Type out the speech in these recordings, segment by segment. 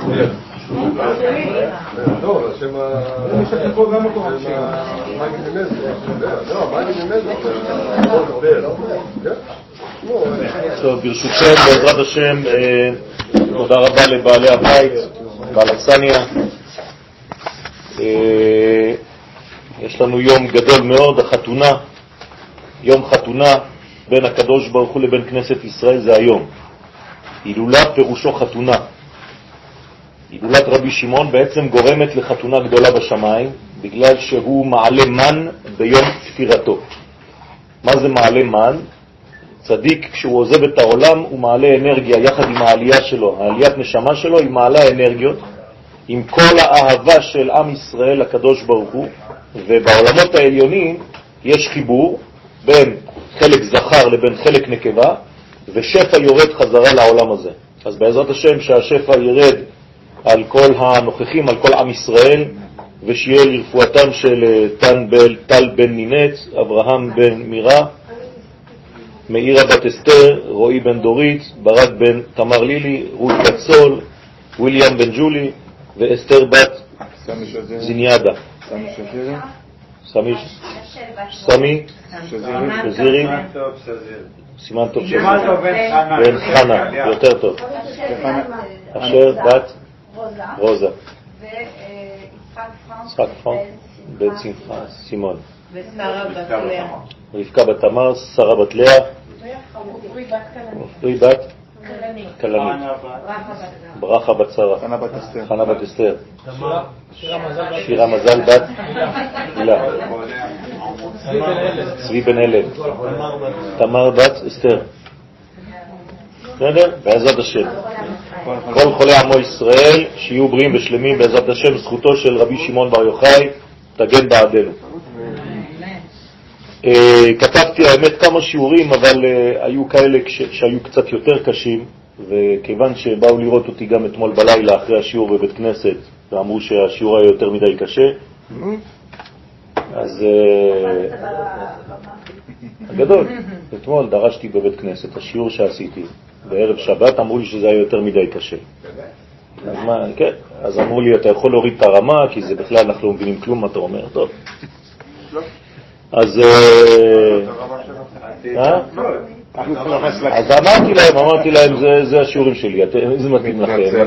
לא, השם טוב, ברשותכם, בעזרת השם, תודה רבה לבעלי הבית, בעל אכסניה. יש לנו יום גדול מאוד, החתונה, יום חתונה בין הקדוש ברוך הוא לבין כנסת ישראל, זה היום. הילולה פירושו חתונה. הילולת רבי שמעון בעצם גורמת לחתונה גדולה בשמיים, בגלל שהוא מעלה מן ביום תפירתו. מה זה מעלה מן? צדיק כשהוא עוזב את העולם הוא מעלה אנרגיה יחד עם העלייה שלו, העליית נשמה שלו היא מעלה אנרגיות עם כל האהבה של עם ישראל לקדוש ברוך הוא, ובעולמות העליונים יש חיבור בין חלק זכר לבין חלק נקבה, ושפע יורד חזרה לעולם הזה. אז בעזרת השם שהשפע ירד על כל הנוכחים, על כל עם ישראל, ושיהיה לרפואתם של טל בן נינץ, אברהם בן מירה, מאירה בת אסתר, רועי בן דורית, ברק בן תמר לילי, רות קצול, וויליאם בן ג'ולי, ואסתר בת זיניאדה. סמי שזירי, סימן טוב שזירי, בן חנה, יותר טוב, אשר בת רוזה, ויצחק פרנק בן סימון, רבקה בת תמר, שרה בת לאה, עופרי בת כלנית, ברכה בת שרה, חנה בת אסתר, שירה מזל בת הילה, צבי בן הלם, תמר בת אסתר. בסדר? בעזרת השם כל חולי עמו ישראל שיהיו בריאים ושלמים בעזרת השם. זכותו של רבי שמעון בר יוחאי תגן בעדנו. כתבתי האמת כמה שיעורים, אבל היו כאלה שהיו קצת יותר קשים, וכיוון שבאו לראות אותי גם אתמול בלילה אחרי השיעור בבית כנסת ואמרו שהשיעור היה יותר מדי קשה, אז הגדול, אתמול דרשתי בבית כנסת השיעור שעשיתי בערב שבת, אמרו לי שזה היה יותר מדי קשה. אז מה, כן, אז אמרו לי אתה יכול להוריד את הרמה כי זה בכלל אנחנו לא מבינים כלום מה אתה אומר. טוב, אז אמרתי להם זה השיעורים שלי, זה מתאים לכם.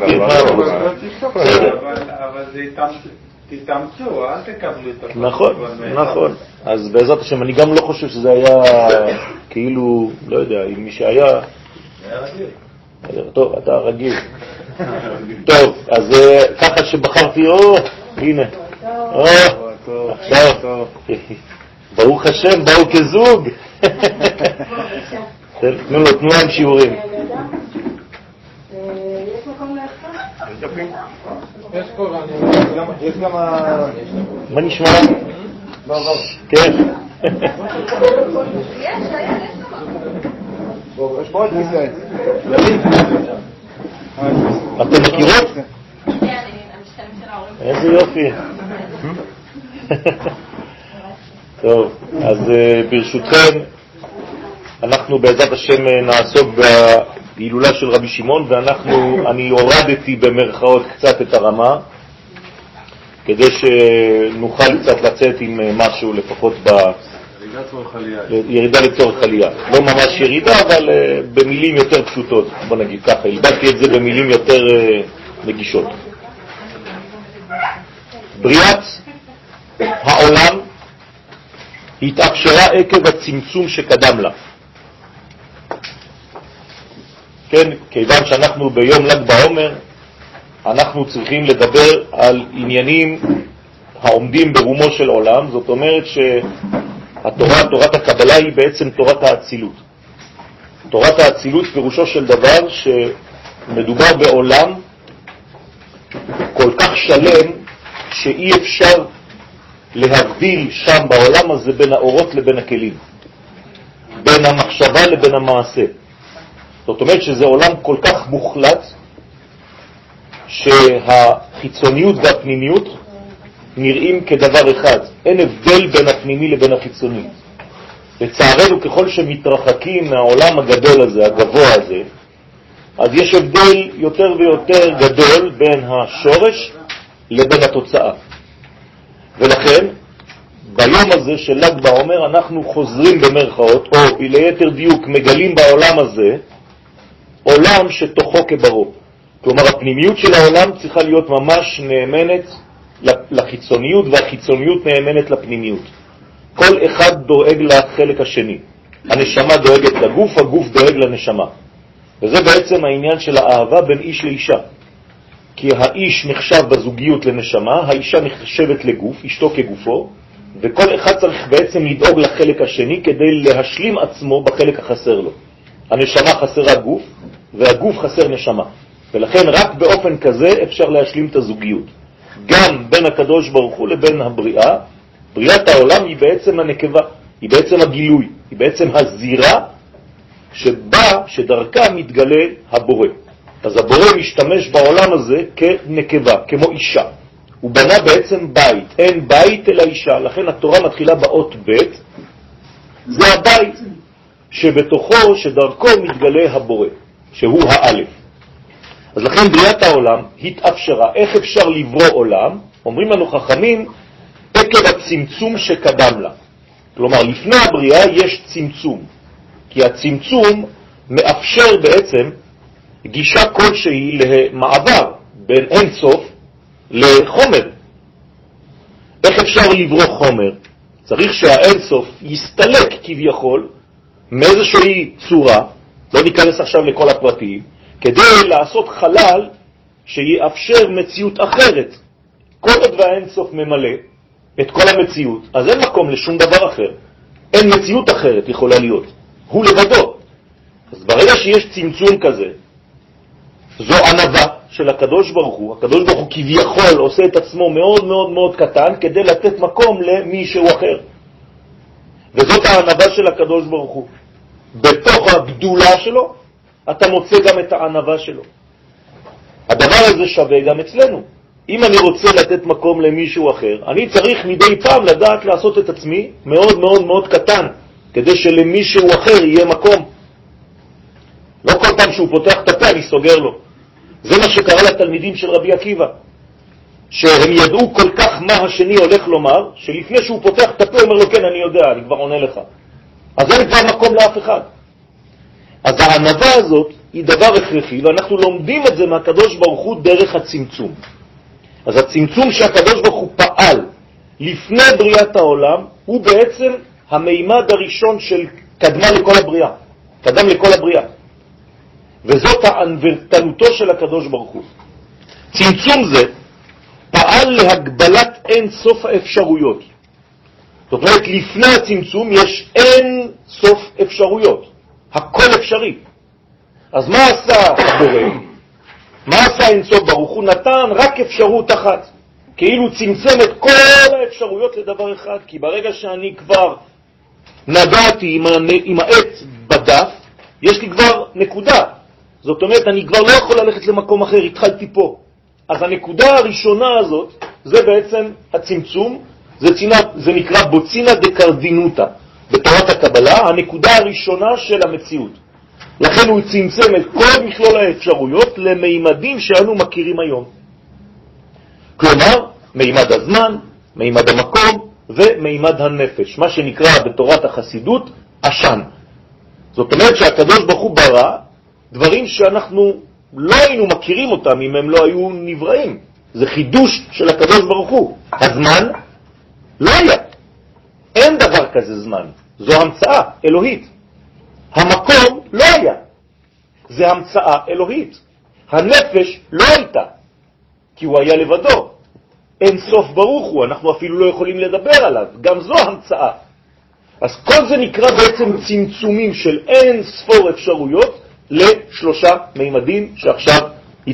אבל זה תתאמצו, אל תקבלו את הכל. נכון. אז בעזרת השם אני גם לא חושב שזה היה כאילו, לא יודע, אם מי שהיה טוב, אתה רגיל. טוב, אז ככה שבחרתי, הנה, עכשיו ברוך השם, באו כזוג. תנו להם שיעורים. יש מקום להחזור? יש פה, יש גם מה נשמע? כן. יש פה עוד כיסא. אתם מכירות? איזה יופי. טוב, אז ברשותכם אנחנו בעזרת השם נעסוק בהילולה של רבי שמעון, ואני הורדתי במרכאות קצת את הרמה כדי שנוכל קצת לצאת עם משהו לפחות ירידה לצורך עלייה. לא ממש ירידה, אבל במילים יותר פשוטות, בוא נגיד ככה, הלבדתי את זה במילים יותר נגישות. בריאת העולם התאפשרה עקב הצמצום שקדם לה. כן, כיוון שאנחנו ביום ל"ג בעומר, אנחנו צריכים לדבר על עניינים העומדים ברומו של עולם. זאת אומרת שהתורה, תורת הקבלה, היא בעצם תורת האצילות. תורת האצילות פירושו של דבר שמדובר בעולם כל כך שלם שאי אפשר להבדיל שם בעולם הזה בין האורות לבין הכלים, בין המחשבה לבין המעשה. זאת אומרת שזה עולם כל כך מוחלט שהחיצוניות והפנימיות נראים כדבר אחד. אין הבדל בין הפנימי לבין החיצוני. לצערנו ככל שמתרחקים מהעולם הגדול הזה, הגבוה הזה, אז יש הבדל יותר ויותר גדול בין השורש לבין התוצאה. ולכן, ביום הזה של ל"ג בעומר אנחנו חוזרים במרכאות, או ליתר דיוק מגלים בעולם הזה, עולם שתוכו כברו. כלומר, הפנימיות של העולם צריכה להיות ממש נאמנת לחיצוניות, והחיצוניות נאמנת לפנימיות. כל אחד דואג לחלק השני. הנשמה דואגת לגוף, הגוף דואג לנשמה. וזה בעצם העניין של האהבה בין איש לאישה. כי האיש נחשב בזוגיות לנשמה, האישה נחשבת לגוף, אשתו כגופו, וכל אחד צריך בעצם לדאוג לחלק השני כדי להשלים עצמו בחלק החסר לו. הנשמה חסרה גוף, והגוף חסר נשמה. ולכן רק באופן כזה אפשר להשלים את הזוגיות. גם בין הקדוש ברוך הוא לבין הבריאה, בריאת העולם היא בעצם הנקבה, היא בעצם הגילוי, היא בעצם הזירה שדרכה מתגלה הבורא. אז הבורא משתמש בעולם הזה כנקבה, כמו אישה. הוא בנה בעצם בית, אין בית אלא אישה, לכן התורה מתחילה באות ב', זה הבית שבתוכו, שדרכו מתגלה הבורא, שהוא האלף. אז לכן בריאת העולם התאפשרה. איך אפשר לברוא עולם? אומרים לנו חכמים, עקב הצמצום שקדם לה. כלומר, לפני הבריאה יש צמצום, כי הצמצום מאפשר בעצם גישה כלשהי למעבר בין אין סוף לחומר. איך אפשר לברוא חומר? צריך שהאין סוף יסתלק כביכול מאיזושהי צורה, לא ניכנס עכשיו לכל הפרטים, כדי לעשות חלל שיאפשר מציאות אחרת. כל עוד והאין סוף ממלא את כל המציאות, אז אין מקום לשום דבר אחר. אין מציאות אחרת יכולה להיות. הוא לבדו. אז ברגע שיש צמצום כזה, זו ענווה של הקדוש ברוך הוא. הקדוש ברוך הוא כביכול עושה את עצמו מאוד מאוד מאוד קטן כדי לתת מקום למישהו אחר. וזאת הענווה של הקדוש ברוך הוא. בתוך הגדולה שלו, אתה מוצא גם את הענווה שלו. הדבר הזה שווה גם אצלנו. אם אני רוצה לתת מקום למישהו אחר, אני צריך מדי פעם לדעת לעשות את עצמי מאוד מאוד מאוד קטן, כדי שלמישהו אחר יהיה מקום. לא כל פעם שהוא פותח את הפה אני סוגר לו. זה מה שקרה לתלמידים של רבי עקיבא, שהם ידעו כל כך מה השני הולך לומר, שלפני שהוא פותח את הפה אומר לו כן אני יודע, אני כבר עונה לך. אז אין כבר מקום לאף אחד. אז הענווה הזאת היא דבר הכרחי, ואנחנו לומדים את זה מהקדוש ברוך הוא דרך הצמצום. אז הצמצום שהקדוש ברוך הוא פעל לפני בריאת העולם, הוא בעצם המימד הראשון של קדמה לכל הבריאה. קדם לכל הבריאה. וזאת הענוותנותו של הקדוש ברוך הוא. צמצום זה פעל להגבלת אין סוף האפשרויות. זאת אומרת, לפני הצמצום יש אין סוף אפשרויות. הכל אפשרי. אז מה עשה הבורא? מה עשה אין סוף ברוך הוא? נתן רק אפשרות אחת. כאילו צמצם את כל האפשרויות לדבר אחד. כי ברגע שאני כבר נגעתי עם העט בדף, יש לי כבר נקודה. זאת אומרת, אני כבר לא יכול ללכת למקום אחר, התחלתי פה. אז הנקודה הראשונה הזאת, זה בעצם הצמצום, זה נקרא בוצינה דקרדינוטה. בתורת הקבלה, הנקודה הראשונה של המציאות. לכן הוא צמצם את כל מכלול האפשרויות למימדים שאנו מכירים היום. כלומר, מימד הזמן, מימד המקום ומימד הנפש, מה שנקרא בתורת החסידות עשן. זאת אומרת שהקדוש ברוך הוא ברא דברים שאנחנו לא היינו מכירים אותם אם הם לא היו נבראים. זה חידוש של הקדוש ברוך הוא. הזמן לא היה. אין דבר כזה זמן. זו המצאה אלוהית. המקום לא היה. זה המצאה אלוהית. הנפש לא הייתה, כי הוא היה לבדו. אין סוף ברוך הוא, אנחנו אפילו לא יכולים לדבר עליו. גם זו המצאה. אז כל זה נקרא בעצם צמצומים של אין ספור אפשרויות לשלושה מימדים שעכשיו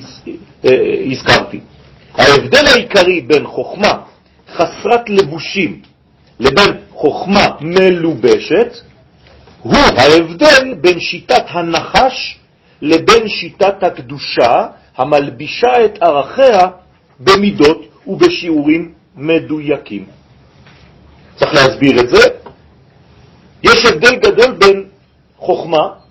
הזכרתי. ההבדל העיקרי בין חוכמה חסרת לבושים לבין חוכמה מלובשת הוא ההבדל בין שיטת הנחש לבין שיטת הקדושה המלבישה את ערכיה במידות ובשיעורים מדויקים. צריך להסביר את זה. יש הבדל גדול בין חוכמה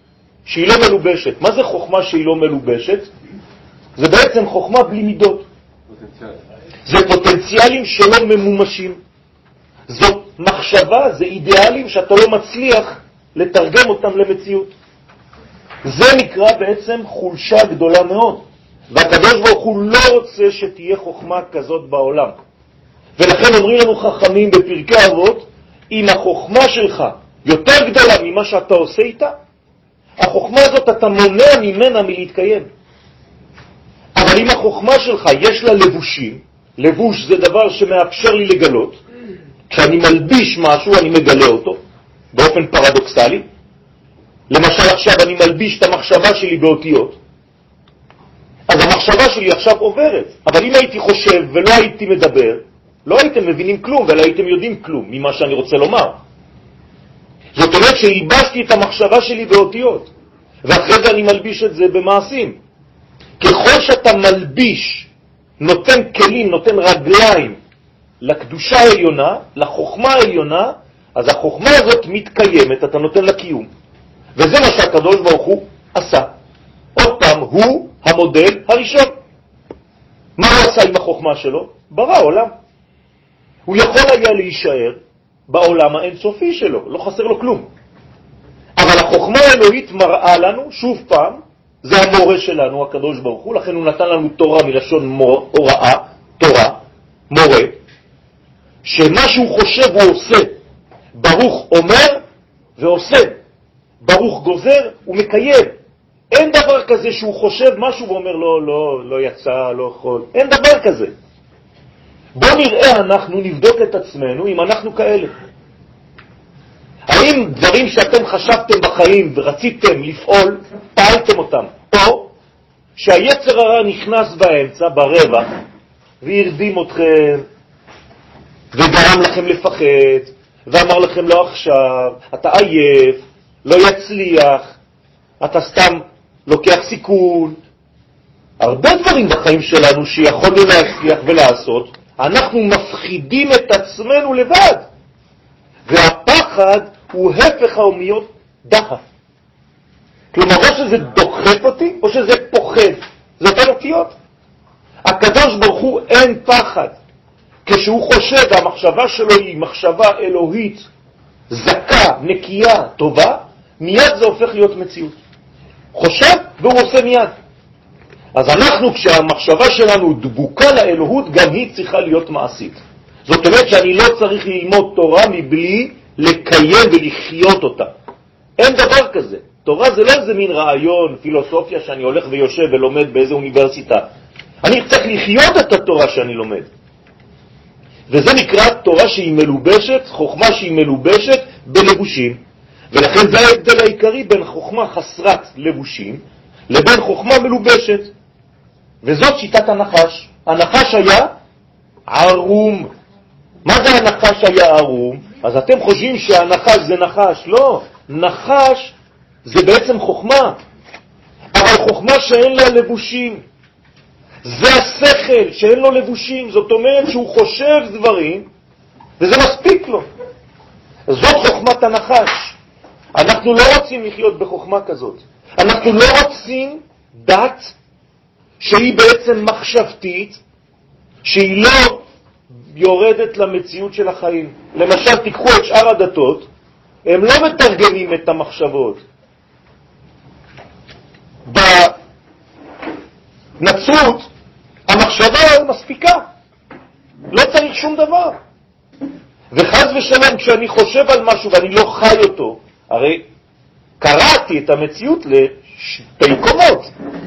שהיא לא מלובשת. מה זה חוכמה שהיא לא מלובשת? זה בעצם חוכמה בלי מידות. זה פוטנציאלים שלא ממומשים. זאת מחשבה, זה אידיאלים שאתה לא מצליח לתרגם אותם למציאות. זה נקרא בעצם חולשה גדולה מאוד. והקדוש ברוך הוא לא רוצה שתהיה חוכמה כזאת בעולם. ולכן אומרים לנו חכמים בפרקי אבות, אם החוכמה שלך יותר גדולה ממה שאתה עושה איתה, החוכמה הזאת אתה מונע ממנה מלהתקיים. אבל אם החוכמה שלך יש לה לבושים, לבוש זה דבר שמאפשר לי לגלות, כשאני מלביש משהו אני מגלה אותו, באופן פרדוקסלי. למשל עכשיו אני מלביש את המחשבה שלי באותיות, אז המחשבה שלי עכשיו עוברת. אבל אם הייתי חושב ולא הייתי מדבר, לא הייתם מבינים כלום ולא הייתם יודעים כלום ממה שאני רוצה לומר. זאת אומרת שהלבשתי את המחשבה שלי באותיות, ואחרי זה אני מלביש את זה במעשים. ככל שאתה מלביש, נותן כלים, נותן רגליים לקדושה העליונה, לחוכמה העליונה, אז החוכמה הזאת מתקיימת, אתה נותן לה קיום. וזה מה שהקדוש ברוך הוא עשה. עוד פעם, הוא המודל הראשון. מה הוא עשה עם החוכמה שלו? ברא עולם. הוא יכול היה להישאר בעולם האינסופי שלו, לא חסר לו כלום. אבל החוכמה האלוהית מראה לנו, שוב פעם, זה המורה שלנו, הקדוש ברוך הוא, לכן הוא נתן לנו תורה מלשון הוראה, תורה, מורה, שמה שהוא חושב הוא עושה. ברוך אומר ועושה. ברוך גוזר ומקיים. אין דבר כזה שהוא חושב משהו ואומר לא יצא, לא יכול. אין דבר כזה. בוא נראה, אנחנו נבדוק את עצמנו אם אנחנו כאלה. האם דברים שאתם חשבתם בחיים ורציתם לפעול, פעלתם אותם? או שהיצר הרע נכנס באמצע, ברווח, והרדים אתכם, וגרם לכם לפחד, ואמר לכם לא עכשיו, אתה עייף, לא יצליח, אתה סתם לוקח סיכון. הרבה דברים בחיים שלנו שיכולנו להצליח ולעשות, אנחנו מפחידים את עצמנו לבד. והפחד הוא הפך האומיות דחף. כלומר, או שזה דוחף אותי, או שזה פוחד. זה אותן אותיות. הקדוש ברוך הוא אין פחד. כשהוא חושב, והמחשבה שלו היא מחשבה אלוהית, זכה, נקייה, טובה, מיד זה הופך להיות מציאות. חושב והוא עושה מיד. אז אנחנו, כשהמחשבה שלנו דבוקה לאלוהות, גם היא צריכה להיות מעשית. זאת אומרת שאני לא צריך ללמוד תורה מבלי לקיים ולחיות אותה. אין דבר כזה. תורה זה לא איזה מין רעיון, פילוסופיה שאני הולך ויושב ולומד באיזה אוניברסיטה. אני צריך לחיות את התורה שאני לומד. וזה נקרא תורה שהיא מלובשת, חוכמה שהיא מלובשת בלבושים. ולכן זה ההבדל העיקרי בין חוכמה חסרת לבושים לבין חוכמה מלובשת. וזאת שיטת הנחש. הנחש היה ערום. מה זה הנחש היה ערום? אז אתם חושבים שהנחש זה נחש. לא, נחש זה בעצם חוכמה. אבל חוכמה שאין לה לבושים. זה השכל שאין לו לבושים. זאת אומרת שהוא חושב דברים וזה מספיק לו. זאת חוכמת הנחש. אנחנו לא רוצים לחיות בחוכמה כזאת. אנחנו לא רוצים דת שהיא בעצם מחשבתית, שהיא לא יורדת למציאות של החיים. למשל, תיקחו את שאר הדתות, הם לא מתרגמים את המחשבות. בנצרות, המחשבה מספיקה. לא צריך שום דבר. וחז ושלום, כשאני חושב על משהו ואני לא חי אותו, הרי קראתי את המציאות לשתי קומות.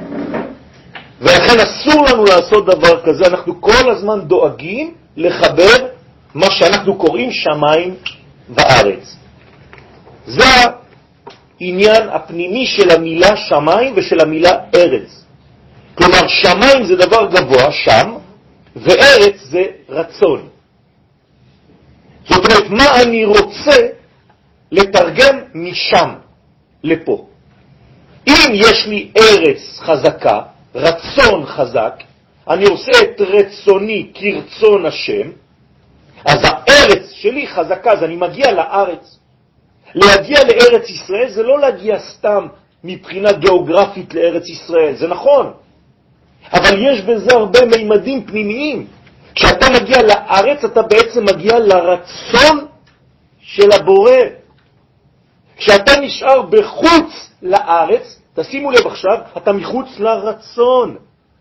ולכן אסור לנו לעשות דבר כזה. אנחנו כל הזמן דואגים לחבר מה שאנחנו קוראים שמיים וארץ. זה העניין הפנימי של המילה שמיים ושל המילה ארץ. כלומר, שמיים זה דבר גבוה, שם, וארץ זה רצון. זאת אומרת, מה אני רוצה לתרגם משם לפה. אם יש לי ארץ חזקה, רצון חזק, אני עושה את רצוני כרצון השם, אז הארץ שלי חזקה, אז אני מגיע לארץ. להגיע לארץ ישראל זה לא להגיע סתם מבחינה גיאוגרפית לארץ ישראל, זה נכון. אבל יש בזה הרבה מימדים פנימיים. כשאתה מגיע לארץ, אתה בעצם מגיע לרצון של הבורא. כשאתה נשאר בחוץ לארץ, תשימו לב עכשיו, אתה מחוץ לרצון.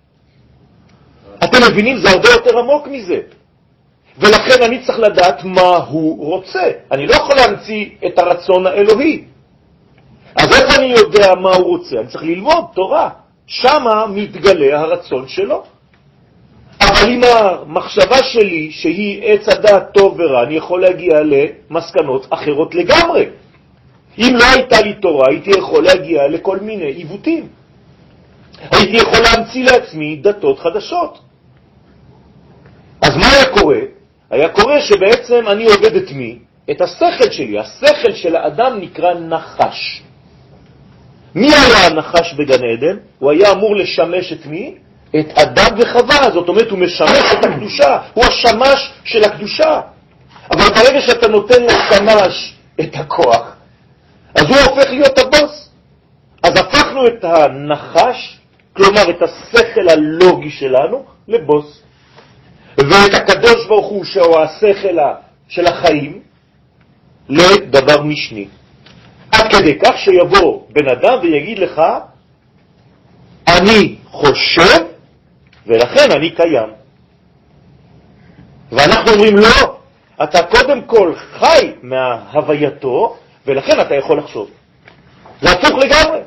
אתם מבינים? זה הרבה יותר עמוק מזה. ולכן אני צריך לדעת מה הוא רוצה. אני לא יכול להמציא את הרצון האלוהי. אז איך אני יודע מה הוא רוצה? אני צריך ללמוד תורה. שמה מתגלה הרצון שלו. אבל עם המחשבה שלי, שהיא עץ הדעת טוב ורע, אני יכול להגיע למסקנות אחרות לגמרי. אם לא הייתה לי תורה, הייתי יכול להגיע לכל מיני עיוותים. הייתי יכול להמציא לעצמי דתות חדשות. אז מה היה קורה? היה קורה שבעצם אני עובד את מי? את השכל שלי. השכל של האדם נקרא נחש. מי היה הנחש בגן עדן? הוא היה אמור לשמש את מי? את אדם וחווה. זאת אומרת, הוא משמש את הקדושה. הוא השמש של הקדושה. אבל ברגע שאתה נותן לשמש את הכוח, אז הוא הופך להיות הבוס. אז הפכנו את הנחש, כלומר את השכל הלוגי שלנו, לבוס. ואת הקדוש ברוך הוא, שהוא השכל של החיים, לדבר משני. עד כדי כך שיבוא בן אדם ויגיד לך, אני חושב ולכן אני קיים. ואנחנו אומרים לא, אתה קודם כל חי מההווייתו ולכן אתה יכול לחשוב. זה הפוך לגמרי.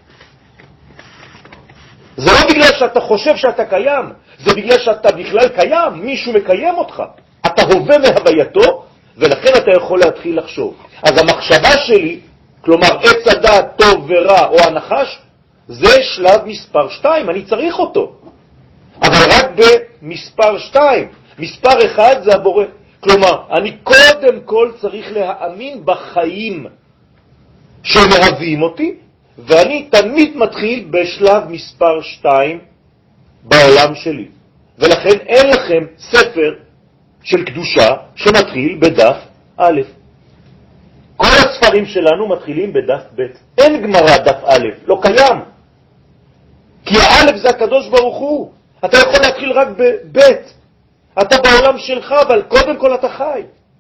זה לא בגלל שאתה חושב שאתה קיים, זה בגלל שאתה בכלל קיים, מישהו מקיים אותך. אתה הווה מהווייתו ולכן אתה יכול להתחיל לחשוב. אז המחשבה שלי, כלומר עץ הדעת טוב ורע או הנחש, זה שלב מספר 2, אני צריך אותו. אבל רק במספר 2. מספר 1 זה הבורא. כלומר, אני קודם כל צריך להאמין בחיים שמהווים אותי, ואני תמיד מתחיל בשלב מספר 2 בעולם שלי. ולכן אין לכם ספר של קדושה שמתחיל בדף א'. כל הספרים שלנו מתחילים בדף ב'. אין גמרא דף א', לא קיים. כי האלף זה הקדוש ברוך הוא. אתה יכול להתחיל רק בב'. אתה בעולם שלך, אבל קודם כל אתה חי.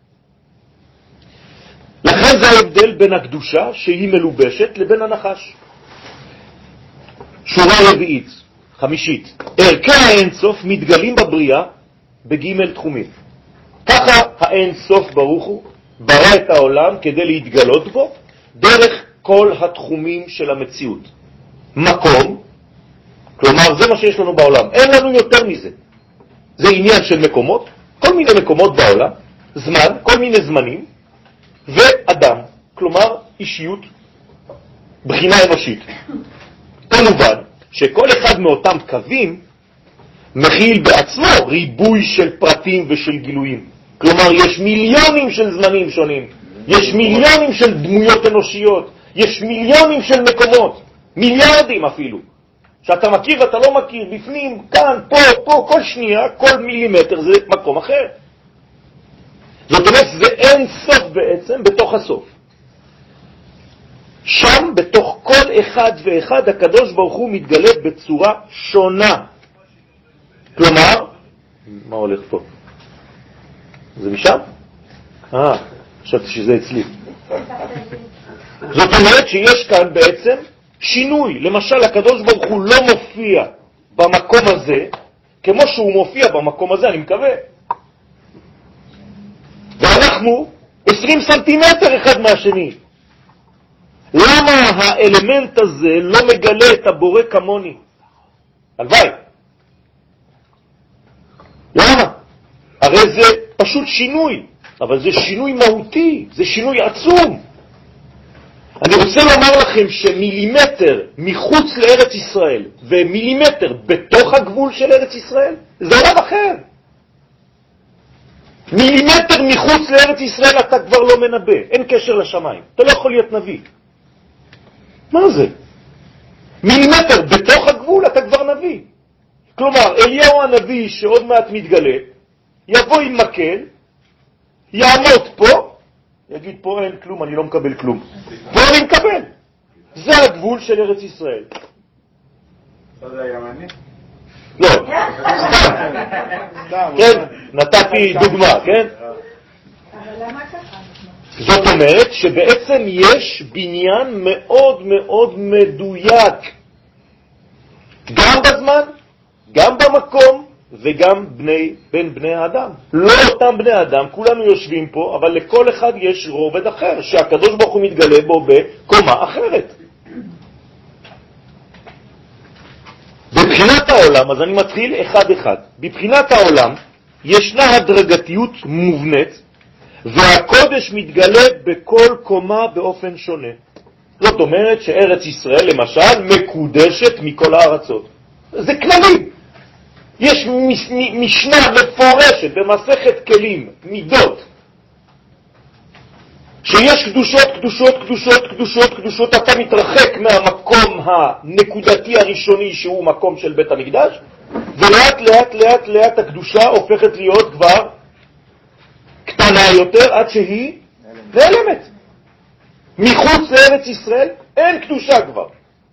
לכן זה ההבדל בין הקדושה שהיא מלובשת לבין הנחש. שורה רביעית, חמישית. ערכי האינסוף מתגלים בבריאה בג' תחומים. ככה האינסוף ברוך הוא ברא את העולם כדי להתגלות בו דרך כל התחומים של המציאות. מקום, כלומר זה מה שיש לנו בעולם, אין לנו יותר מזה. זה עניין של מקומות, כל מיני מקומות בעולם, זמן, כל מיני זמנים, ואדם, כלומר אישיות, בחינה אנושית. כמובן שכל אחד מאותם קווים מכיל בעצמו ריבוי של פרטים ושל גילויים. כלומר, יש מיליונים של זמנים שונים, יש מיליונים של דמויות אנושיות, יש מיליונים של מקומות, מיליארדים אפילו, שאתה מכיר ואתה לא מכיר, בפנים, כאן, פה, כל שנייה, כל מילימטר זה מקום אחר. זאת אומרת, זה אין סוף בעצם בתוך הסוף. שם, בתוך כל אחד ואחד, הקדוש ברוך הוא מתגלה בצורה שונה. כלומר, מה הולך פה? זה משם? חשבתי שזה אצלי. זאת אומרת שיש כאן בעצם שינוי. למשל, הקדוש ברוך הוא לא מופיע במקום הזה, כמו שהוא מופיע במקום הזה, אני מקווה. ואנחנו 20 סנטימטר אחד מהשני. למה האלמנט הזה לא מגלה את הבורא כמוני? הלוואי. למה? הרי זה פשוט שינוי, אבל זה שינוי מהותי, זה שינוי עצום. אני רוצה לומר לכם שמילימטר מחוץ לארץ ישראל ומילימטר בתוך הגבול של ארץ ישראל, זה עולם אחר. מילימטר מחוץ לארץ ישראל אתה כבר לא מנבא, אין קשר לשמיים, אתה לא יכול להיות נביא. מה זה? מילימטר בתוך הגבול אתה כבר נביא. כלומר, אליהו הנביא שעוד מעט מתגלה, יבוא עם מקל, יעמוד פה, יגיד פה אין כלום, אני לא מקבל כלום. פה אני מקבל. זה הגבול של ארץ ישראל. זה הימני? לא, סתם, כן, נתתי דוגמה, כן? אבל למה ככה? זאת אומרת שבעצם יש בניין מאוד מאוד מדויק, גם בזמן, גם במקום וגם בין בני האדם. לא אותם בני אדם, כולנו יושבים פה, אבל לכל אחד יש רובד אחר, שהקדוש ברוך הוא מתגלה בו בקומה אחרת. בבחינת העולם, אז אני מתחיל אחד אחד. בבחינת העולם ישנה הדרגתיות מובנית, והקודש מתגלה בכל קומה באופן שונה. זאת אומרת שארץ ישראל למשל מקודשת מכל הארצות. זה כללי. יש משנה מפורשת במסכת כלים, מידות, שיש קדושות, קדושות, קדושות, קדושות, קדושות. אתה מתרחק מהמקום הנקודתי הראשוני שהוא מקום של בית המקדש, ולאט לאט לאט לאט הקדושה הופכת להיות כבר קטנה יותר עד שהיא נעלמת. מחוץ לארץ ישראל אין קדושה כבר.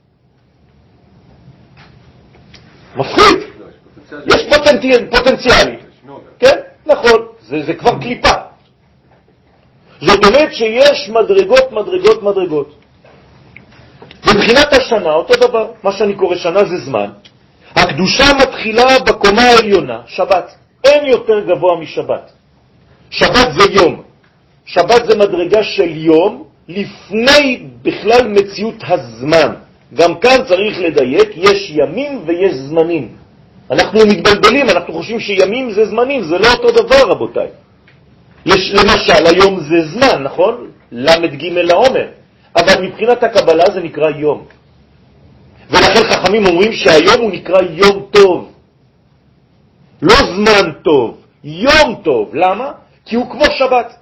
מפחיד. יש פוטנציאלי. כן, נכון, זה כבר קליפה. זאת אומרת שיש מדרגות, מדרגות, מדרגות. מבחינת השנה, אותו דבר, מה שאני קורא שנה זה זמן. הקדושה מתחילה בקומה העליונה, שבת. אין יותר גבוה משבת. שבת זה יום. שבת זה מדרגה של יום לפני בכלל מציאות הזמן. גם כאן צריך לדייק, יש ימים ויש זמנים. אנחנו מתבלבלים, אנחנו חושבים שימים זה זמנים, זה לא אותו דבר רבותיי. למשל, היום זה זמן, נכון? למד ג' לעומר. אבל מבחינת הקבלה זה נקרא יום. ולכן חכמים אומרים שהיום הוא נקרא יום טוב. לא זמן טוב, יום טוב. למה? כי הוא כמו שבת.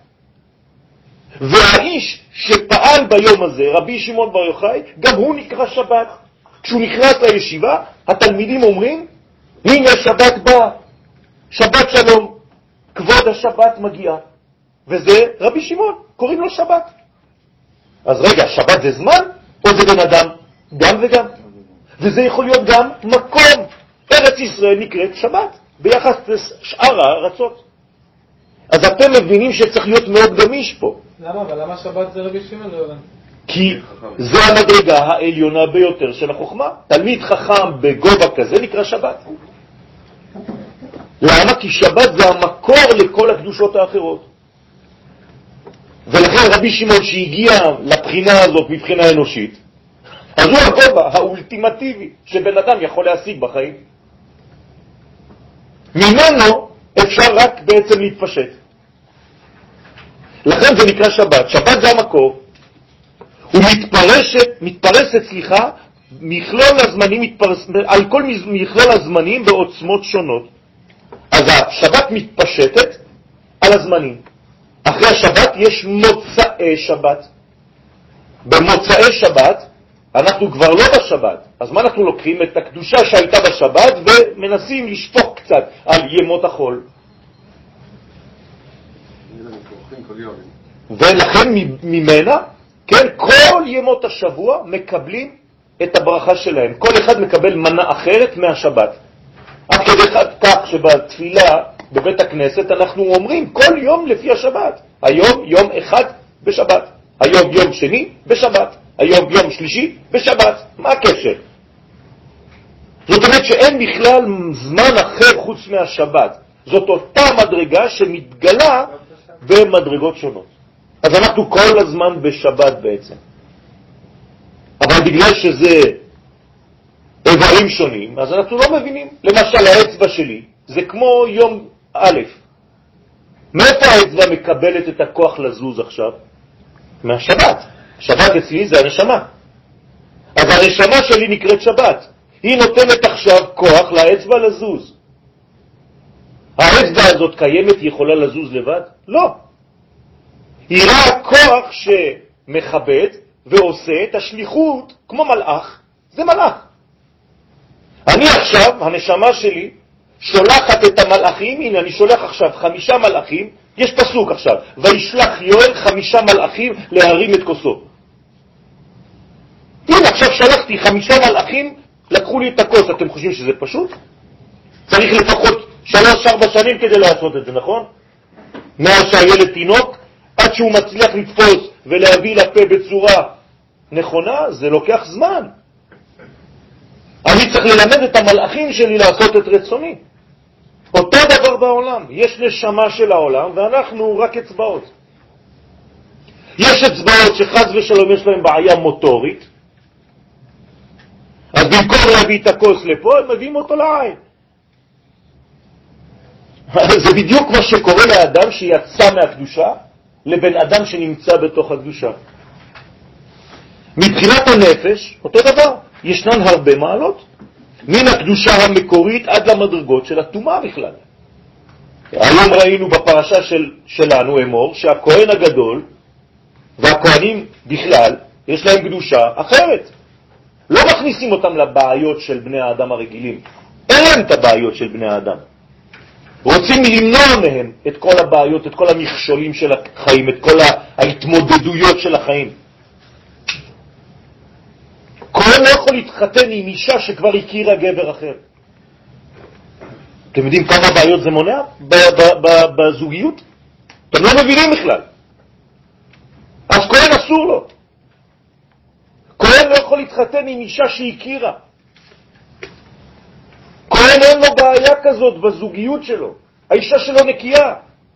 והאיש שפעל ביום הזה, רבי שמעון בר יוחאי, גם הוא נקרא שבת. כשהוא נכנס לישיבה, התלמידים אומרים, הנה שבת בא, שבת שלום, כבוד השבת מגיע. וזה רבי שמעון, קוראים לו שבת. אז רגע, שבת זה זמן או זה בן אדם? גם וגם. וזה יכול להיות גם מקום. ארץ ישראל נקראת שבת, ביחס לשאר הארצות. אז אתם מבינים שצריך להיות מאוד גמיש פה. למה? אבל למה שבת זה רבי שמעון? כי זה המדרגה העליונה ביותר של החוכמה. תלמיד חכם בגובה כזה נקרא שבת. למה? כי שבת זה המקור לכל הקדושות האחרות. ולכן רבי שמעון שהגיע לבחינה הזאת מבחינה אנושית, אז הוא הגובה האולטימטיבי שבן אדם יכול להשיג בחיים. ממנו אפשר רק בעצם להתפשט. לכן זה נקרא שבת. שבת זה המקור. הוא מתפרסת, מכלול הזמנים על כל מכלול הזמנים בעוצמות שונות. אז השבת מתפשטת על הזמנים. אחרי השבת יש מוצאי שבת. במוצאי שבת אנחנו כבר לא בשבת. אז מה אנחנו לוקחים? את הקדושה שהייתה בשבת ומנסים לשפוך קצת על ימות החול. ולכן ממנה, כן, כל ימות השבוע מקבלים את הברכה שלהם. כל אחד מקבל מנה אחרת מהשבת. עד כדי כך שבתפילה בבית הכנסת אנחנו אומרים כל יום לפי השבת. היום יום אחד בשבת, היום יום שני בשבת, היום יום שלישי בשבת. מה הקשר? זאת אומרת שאין בכלל זמן אחר חוץ מהשבת. זאת אותה מדרגה שמתגלה במדרגות שונות. אז אנחנו כל הזמן בשבת בעצם. אבל בגלל שזה איברים שונים, אז אנחנו לא מבינים. למשל האצבע שלי זה כמו יום א'. מאיפה האצבע מקבלת את הכוח לזוז עכשיו? מהשבת. שבת אצלי זה הנשמה. אז הנשמה שלי נקראת שבת. היא נותנת עכשיו כוח לאצבע לזוז. האצבע הזאת קיימת, היא יכולה לזוז לבד? לא. היא רק כוח שמכבד ועושה את השליחות כמו מלאך. זה מלאך. אני עכשיו, הנשמה שלי, שולחת את המלאכים. הנה, אני שולח עכשיו 5 מלאכים. יש פסוק עכשיו, וישלח יואל 5 מלאכים להרים את כוסו. יש עכשיו שלחתי 5 מלאכים, לקחו לי את הכוס. אתם חושבים שזה פשוט? צריך לפחות 3-4 שנים כדי לעשות את זה, נכון? מאז שהילד תינוק, עד שהוא מצליח לתפוס ולהביא לפה בצורה נכונה, זה לוקח זמן. אני צריך ללמד את המלאכים שלי לעשות את רצוני. אותו דבר בעולם. יש נשמה של העולם, ואנחנו רק אצבעות. יש אצבעות שחז ושלום יש להם בעיה מוטורית, אז במקום להביא את הכוס לפה, הם מביאים אותו לעין. זה בדיוק מה שקורה לאדם שיצא מהקדושה, לבין אדם שנמצא בתוך הקדושה. מבחינת הנפש, אותו דבר. ישנן הרבה מעלות. מן הקדושה המקורית עד למדרגות של הטומאה בכלל. היום ראינו בפרשה שלנו, אמור, שהכהן הגדול והכהנים בכלל, יש להם קדושה אחרת. לא מכניסים אותם לבעיות של בני האדם הרגילים. אין להם את הבעיות של בני האדם. רוצים למנוע מהם את כל הבעיות, את כל המכשולים של החיים, את כל ההתמודדויות של החיים. כהן לא יכול להתחתן עם אישה שכבר הכירה גבר אחר. אתם יודעים כמה בעיות זה מונע בזוגיות? אתם לא מבינים בכלל. אז כהן אסור לו. כהן לא יכול להתחתן עם אישה שהכירה. כהן אין לו בעיה כזאת בזוגיות שלו. האישה שלו נקייה.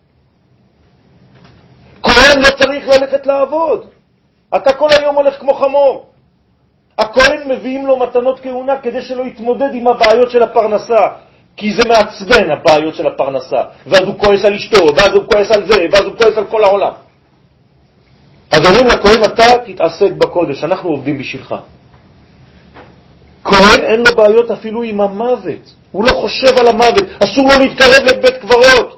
כהן לא צריך ללכת לעבוד. אתה כל היום הולך כמו חמור. הכהן מביאים לו מתנות כהונה כדי שלא יתמודד עם הבעיות של הפרנסה, כי זה מעצבן הבעיות של הפרנסה, ואז הוא כועס על אשתו, ואז הוא כועס על זה, ואז הוא כועס על כל העולם. אז אומרים לכהן, אתה תתעסק בקודש, אנחנו עובדים בשבילך. כהן אין לו בעיות אפילו עם המוות, הוא לא חושב על המוות, אסור לו להתקרב לבית קברות.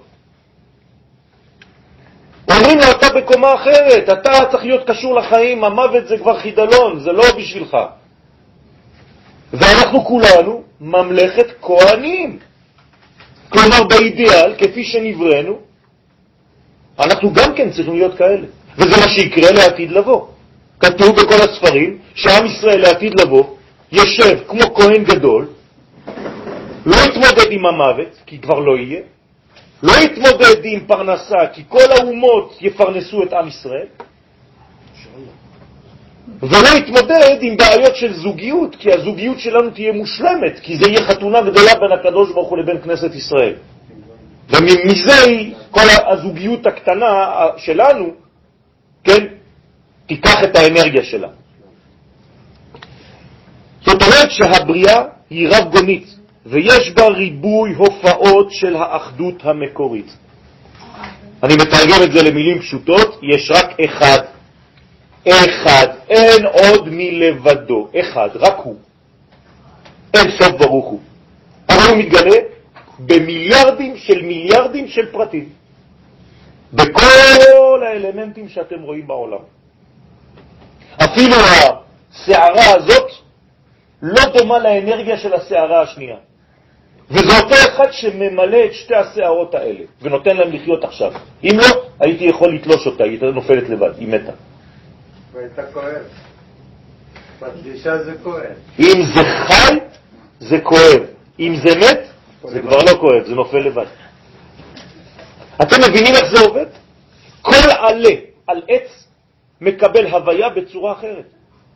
אומרים לו, אתה בקומה אחרת, אתה צריך להיות קשור לחיים, המוות זה כבר חידלון, זה לא בשבילך. ואנחנו כולנו ממלכת כהנים. כלומר, באידיאל, כפי שנברנו, אנחנו גם כן צריכים להיות כאלה. וזה מה שיקרה לעתיד לבוא. כתוב בכל הספרים שעם ישראל לעתיד לבוא ישב כמו כהן גדול, לא יתמודד עם המוות, כי כבר לא יהיה, לא יתמודד עם פרנסה, כי כל האומות יפרנסו את עם ישראל, ולא יתמודד עם בעיות של זוגיות, כי הזוגיות שלנו תהיה מושלמת, כי זה יהיה חתונה גדולה בין הקדוש ברוך הוא לבין כנסת ישראל. ומזה כל הזוגיות הקטנה שלנו, כן, תיקח את האנרגיה שלה. זאת אומרת שהבריאה היא רב גונית, ויש בה ריבוי הופעות של האחדות המקורית. אני מתרגם את זה למילים פשוטות, יש רק אחד. אחד, אין עוד מלבדו, אחד, רק הוא. אין סוף ברוך הוא. אבל הוא מתגלה במיליארדים של פרטים. בכל האלמנטים שאתם רואים בעולם. אפילו השערה הזאת לא דומה לאנרגיה של השערה השנייה. וזה אותו אחד שממלא את שתי השערות האלה, ונותן להם לחיות עכשיו. אם לא, הייתי יכול לתלוש אותה, היא הייתה נופלת לבד, היא מתה. והייתה כואב. בפגישה זה כואב. אם זה חי, זה כואב. אם זה מת, זה כבר לא כואב, זה נופל לבד. אתם מבינים איך זה עובד? כל עלה על עץ מקבל הוויה בצורה אחרת.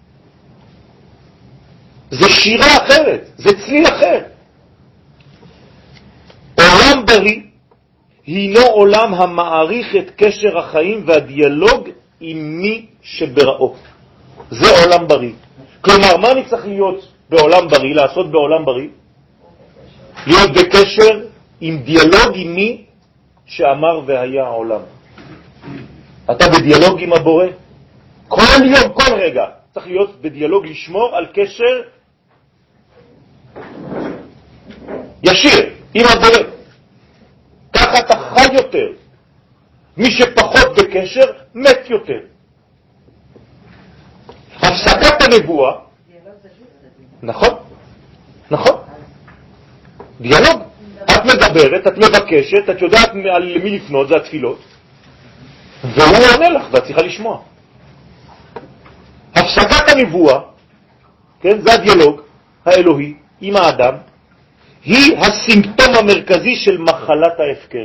זה שירה אחרת, זה צליל אחר. עולם בריא הינו עולם המעריך את קשר החיים והדיאלוג עם מי שבראו. זה עולם בריא. כלומר, מה אני צריך להיות בעולם בריא, לעשות בעולם בריא? להיות בקשר עם דיאלוג עם מי שאמר והיה העולם. אתה בדיאלוג עם הבורא. כל יום, כל רגע, צריך להיות בדיאלוג, לשמור על קשר ישיר עם הבורא. ככה אתה חי יותר. מי שפחות בקשר, מת יותר. הפסקת הנבואה, נכון? נכון. דיאלוג. את מדברת, את מבקשת, את יודעת למי לפנות, זה התפילות. והוא עונה לך, ואת צריכה לשמוע. הפסקת הנבואה כן? זה הדיאלוג האלוהי עם האדם, היא הסימפטום המרכזי של מחלת ההפקר.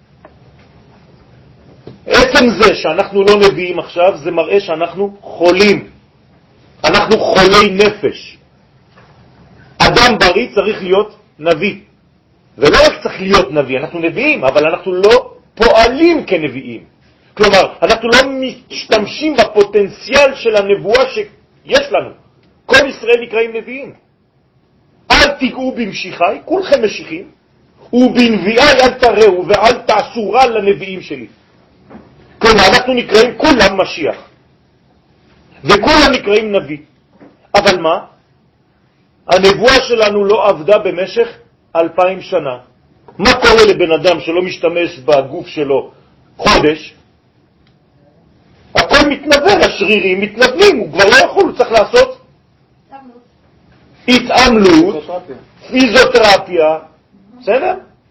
עצם זה שאנחנו לא נביאים עכשיו, זה מראה שאנחנו חולים. אנחנו חולי נפש. אדם בריא צריך להיות נביא. ולא רק צריך להיות נביא, אנחנו נביאים, אבל אנחנו לא פועלים כנביאים. כלומר, אנחנו לא משתמשים בפוטנציאל של הנבואה שיש לנו. כל ישראל נקראים נביאים. אל תיגעו במשיחי, כולכם משיחים, ובנביאי אל תראו ואל תעשו רע לנביאים שלי. כלומר, אנחנו נקראים כולם משיח. וכולם נקראים נביא. אבל מה? הנבואה שלנו לא עבדה במשך 2000 שנה. מה קורה לבן אדם שלא משתמש בגוף שלו חודש? הכל מתנבל, השרירים מתנבלים, הוא כבר לא יכול, הוא צריך לעשות התעמלות, פיזיותרפיה, בסדר?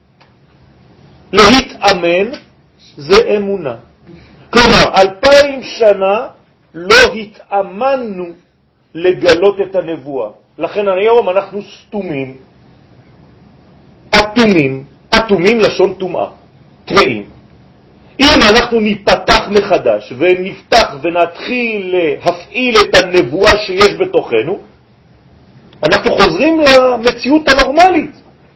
להתאמן זה אמונה. כלומר, 2000 שנה לא התאמנו לגלות את הנבואה. לכן היום אנחנו סתומים, אטומים לשון טומאה, טמאים. אם אנחנו ניפתח מחדש ונפתח ונתחיל להפעיל את הנבואה שיש בתוכנו, אנחנו חוזרים למציאות הנורמלית.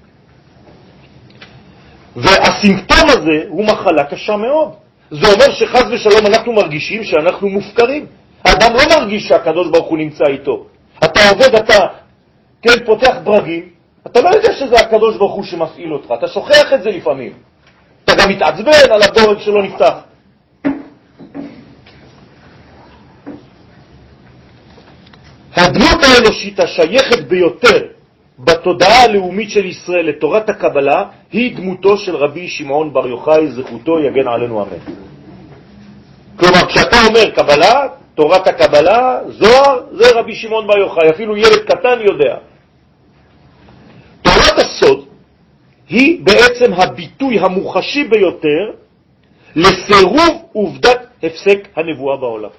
והסימפטום הזה הוא מחלה קשה מאוד. זה אומר שחס ושלום אנחנו מרגישים שאנחנו מופקרים. האדם לא מרגיש שהקדוש ברוך הוא נמצא איתו. אתה עובד, אתה פותח ברגים, אתה לא יודע שזה הקדוש ברוך הוא שמפעיל אותך, אתה שוכח את זה לפעמים. אתה גם מתעצבן על הבורג שלא נפתח. הדמות האנושית השייכת ביותר בתודעה הלאומית של ישראל לתורת הקבלה היא דמותו של רבי שמעון בר יוחאי, זכותו יגן עלינו אמן. כלומר, כשאתה אומר קבלה, תורת הקבלה, זוהר, זה רבי שמעון בר יוחאי, אפילו ילד קטן יודע. תורת הסוד היא בעצם הביטוי המוחשי ביותר לסירוב עובדת הפסק הנבואה בעולם.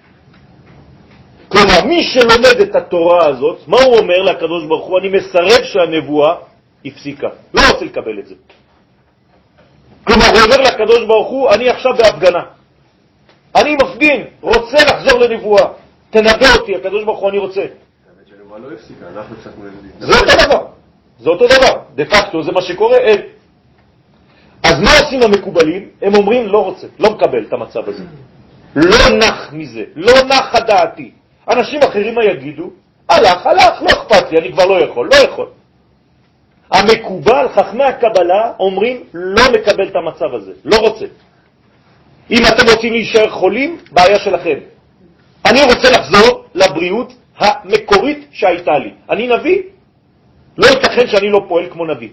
כלומר, מי שלומד את התורה הזאת, מה הוא אומר לקדוש ברוך הוא? אני מסרב שהנבואה הפסיקה. לא רוצה לקבל את זה. כלומר, הוא אומר לקדוש ברוך הוא, אני עכשיו בהפגנה. אני מפגין, רוצה לחזור לנבואה. תנבא אותי, הקדוש ברוך הוא, אני רוצה. האמת שהנבואה לא הפסיקה, אנחנו הפסקנו לנבואה. זה אותו דבר. זה אותו דבר. דה פקטו, זה מה שקורה. אז מה עושים המקובלים? הם אומרים, לא רוצה, לא מקבל את המצב הזה. לא נח מזה, לא נח דעתי. אנשים אחרים מה יגידו? הלך, לא אכפת לי, אני כבר לא יכול. המקובל, חכמי הקבלה, אומרים, לא מקבל את המצב הזה, לא רוצה. אם אתם רוצים להישאר חולים, בעיה שלכם. אני רוצה לחזור לבריאות המקורית שהייתה לי. אני נביא? לא ייתכן שאני לא פועל כמו נביא.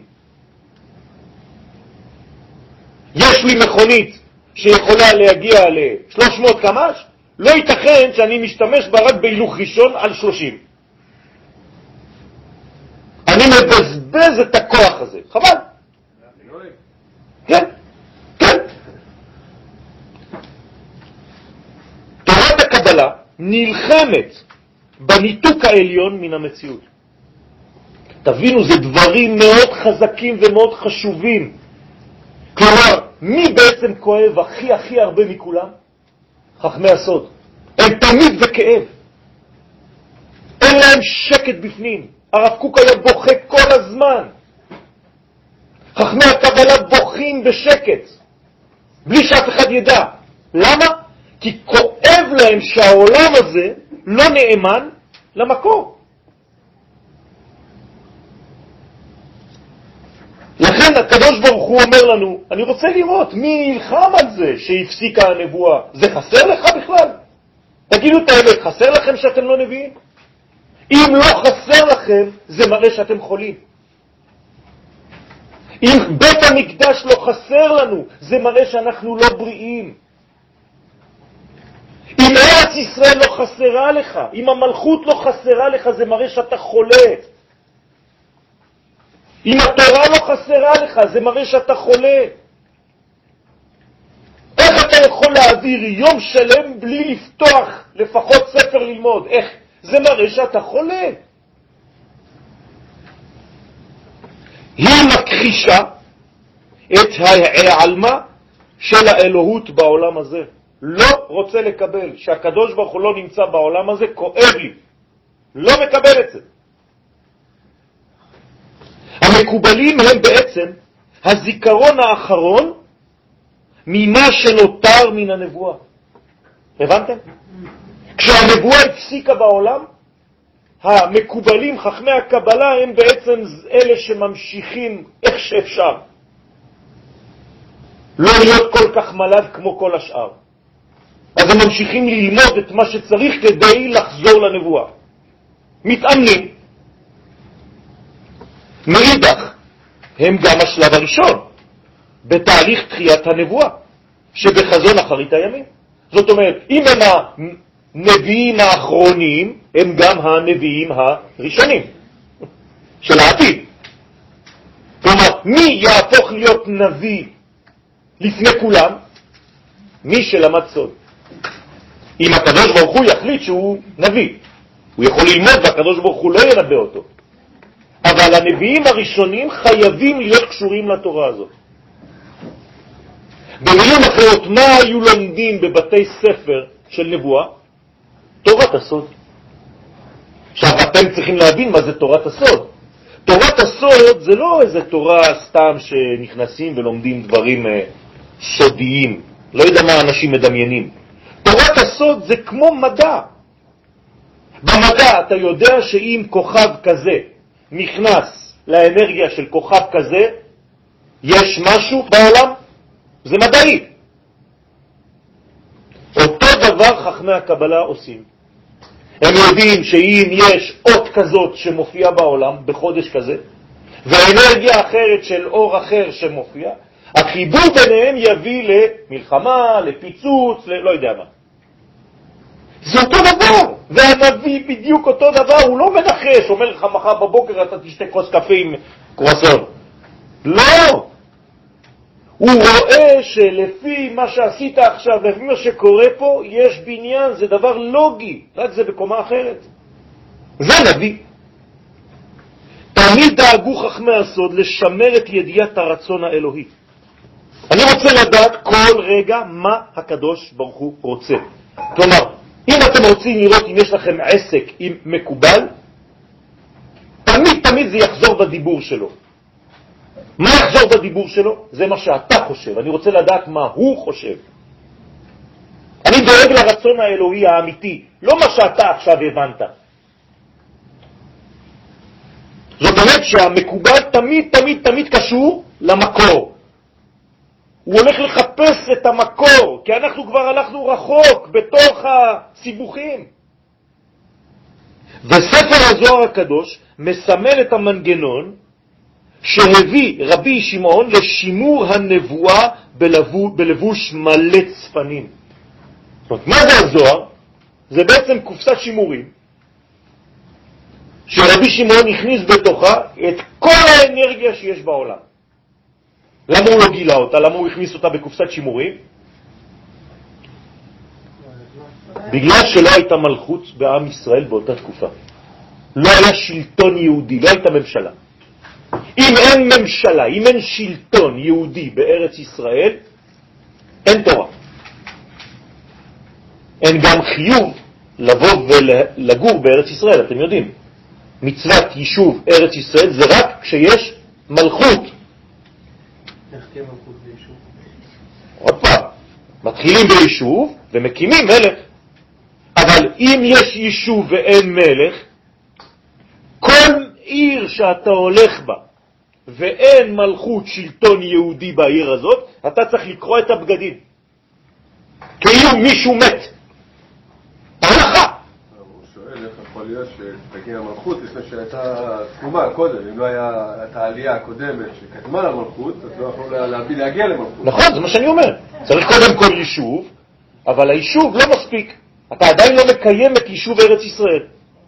יש לי מכונית שיכולה להגיע ל-300 קמ"ש, לא ייתכן שאני משתמש בה רק בהילוך ראשון על 30. אני מבזבז את הכוח הזה. חבל. כן. תורת הקבלה נלחמת בניתוק העליון מן המציאות. תבינו, זה דברים מאוד חזקים ומאוד חשובים. כלומר, מי בעצם כואב הכי הרבה מכולם? חכמי הסוד. הם תמיד בכאב. אין להם שקט בפנים. הרב קוק היה בוכה כל הזמן. חכמי הקבלה בוכים בשקט, בלי שאף אחד ידע. למה? כי כואב להם שהעולם הזה לא נאמן למקור. לכן הקדוש ברוך הוא אומר לנו, אני רוצה לראות מי נלחם על זה שהפסיקה הנבואה. זה חסר לך בכלל? תגידו את האמת, חסר לכם שאתם לא נביאים? אם לא חסר לכם, זה מראה שאתם חולים. אם בית המקדש לא חסר לנו, זה מראה שאנחנו לא בריאים. אם ארץ ישראל לא חסרה לך, אם המלכות לא חסרה לך, זה מראה שאתה חולה. אם התורה לא חסרה לך, זה מראה שאתה חולה. איך אתה יכול להעביר יום שלם בלי לפתוח לפחות ספר ללמוד? איך? זה מראה שאתה חולה. היא מכחישה את העלמה של האלוהות בעולם הזה. לא רוצה לקבל שהקדוש ברוך הוא לא נמצא בעולם הזה, כואב לי. לא מקבל את זה. המקובלים הם בעצם הזיכרון האחרון ממה שנותר מן הנבואה. הבנתם? כשהנבואה הפסיקה בעולם, המקובלים, חכמי הקבלה, הם בעצם אלה שממשיכים איך שאפשר. לא להיות כל כך מלד כמו כל השאר. אז הם ממשיכים ללמוד את מה שצריך כדי לחזור לנבואה. מתאמנים. מאידך, הם גם השלב הראשון בתהליך תחיית הנבואה, שבחזון אחרית הימים. זאת אומרת, אם הם הנביאים האחרונים, הם גם הנביאים הראשונים של העתיד. כלומר, מי יהפוך להיות נביא לפני כולם? מי שלמד סוד. אם הקדוש ברוך הוא יחליט שהוא נביא, הוא יכול ללמוד והקדוש ברוך הוא לא ינבא אותו. אבל הנביאים הראשונים חייבים להיות קשורים לתורה הזאת. במילים אחרות, מה היו לומדים בבתי ספר של נבואה? תורת הסוד. עכשיו אתם צריכים להבין מה זה תורת הסוד. תורת הסוד זה לא איזה תורה סתם שנכנסים ולומדים דברים סודיים. לא יודע מה אנשים מדמיינים. תורת הסוד זה כמו מדע. במדע אתה יודע שאם כוכב כזה נכנס לאנרגיה של כוכב כזה, יש משהו בעולם? זה מדעי. אותו דבר חכמי הקבלה עושים. הם יודעים שאם יש אות כזאת שמופיעה בעולם בחודש כזה, ואנרגיה אחרת של אור אחר שמופיע, החיבור ביניהם יביא למלחמה, לפיצוץ, לא יודע מה. זה אותו דבר. והנביא בדיוק אותו דבר, הוא לא מנחש, אומר לך מחר בבוקר אתה תשתה כוס קפה עם קרואסון. לא. הוא רואה שלפי מה שעשית עכשיו, לפי מה שקורה פה, יש בניין, זה דבר לוגי, רק זה בקומה אחרת. זה נביא. תמיד דאגו חכמי הסוד לשמר את ידיעת הרצון האלוהי. אני רוצה לדעת כל רגע מה הקדוש ברוך הוא רוצה. כלומר, אם אתם רוצים לראות אם יש לכם עסק עם מקובל, תמיד זה יחזור בדיבור שלו. מה יחזור בדיבור שלו? זה מה שאתה חושב. אני רוצה לדעת מה הוא חושב. אני דואג לרצון האלוהי האמיתי, לא מה שאתה עכשיו הבנת. זאת אומרת שהמקובל תמיד קשור למקור. הוא הולך לחפש את המקור, כי אנחנו כבר הלכנו רחוק בתוך הסיבוכים. וספר הזוהר הקדוש מסמל את המנגנון שהביא רבי שמעון לשימור הנבואה בלבוש מלא צפנים. זאת אומרת, מה זה הזוהר? זה בעצם קופסת שימורים, שרבי שמעון הכניס בתוכה את כל האנרגיה שיש בעולם. למה הוא לא גילה אותה? למה הוא הכניס אותה בקופסת שימורים? בגלל שלא הייתה מלכות בעם ישראל באותה תקופה. לא היה שלטון יהודי, לא הייתה ממשלה. אם אין ממשלה, אם אין שלטון יהודי בארץ ישראל, אין תורה. אין גם חיוב לבוא ולגור בארץ ישראל, אתם יודעים. מצוות יישוב ארץ ישראל זה רק כשיש מלכות. איך תהיה מלכות ביישוב? עוד פעם, מתחילים ביישוב ומקימים מלך. אבל אם יש יישוב ואין מלך, כל עיר שאתה הולך בה ואין מלכות שלטון יהודי בעיר הזאת, אתה צריך לקרוא את הבגדים. כאילו מישהו מת. הלכה. הוא שואל איך יכול להיות שתגיע המלכות לפני שהייתה תקומה קודם, אם לא היה את העלייה הקודמת שקדמה למלכות, אז לא יכולו להגיע למלכות. נכון, זה מה שאני אומר. צריך קודם כל יישוב, אבל היישוב לא מספיק. אתה עדיין לא מקיים את יישוב ארץ ישראל.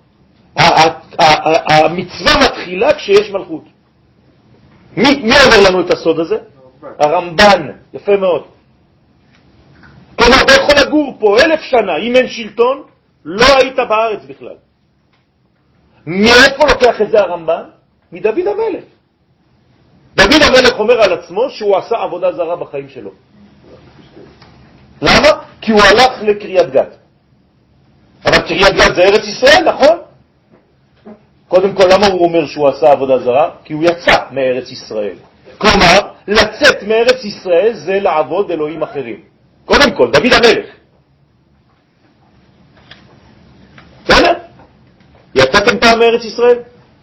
המצווה מתחילה כשיש מלכות. מי אומר לנו את הסוד הזה? הרמב"ן. יפה מאוד. כלומר, אתה יכול לגור פה 1000 שנה, אם אין שלטון, לא היית בארץ בכלל. מאיפה לוקח את זה הרמב"ן? מדוד המלך. המלך אומר על עצמו שהוא עשה עבודה זרה בחיים שלו. למה? כי הוא הלך לקריית גת. אבל קריית גת זה ארץ ישראל, נכון? קודם כל, למה הוא אומר שהוא עשה עבודה זרה? כי הוא יצא מארץ ישראל. כלומר, לצאת מארץ ישראל זה לעבוד אלוהים אחרים. קודם כל, דוד המלך. בסדר? יצאתם פעם מארץ ישראל?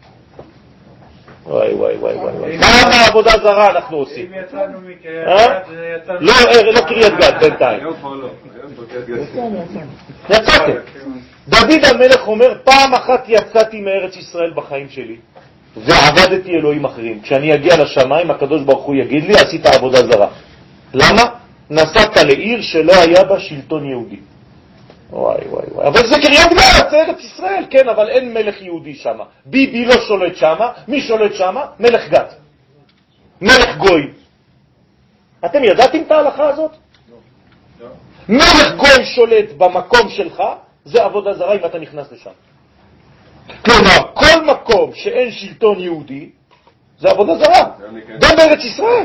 וואי וואי וואי וואי. כמה עבודה זרה אנחנו עושים? אם יצאנו מקריית גת, לא קריית גת בינתיים. היום כבר לא. היום כבר קריית גת. יצאתם. דוד המלך אומר, פעם אחת יצאתי מארץ ישראל בחיים שלי, ועבדתי אלוהים אחרים. כשאני אגיע לשמיים, הקדוש ברוך הוא יגיד לי, עשית עבודה זרה. למה? נסעת לעיר שלא היה בה שלטון יהודי. וואי וואי וואי. אבל זה קריית גת, זה ארץ ישראל, כן, אבל אין מלך יהודי שם. ביבי לא שולט שם, מי שולט שם? מלך גת. מלך גוי. אתם ידעתם את ההלכה הזאת? לא. מלך גוי שולט במקום שלך, זה עבודה זרה אם אתה נכנס לשם. כלומר, כל מקום שאין שלטון יהודי, זה עבודה זרה. גם בארץ ישראל.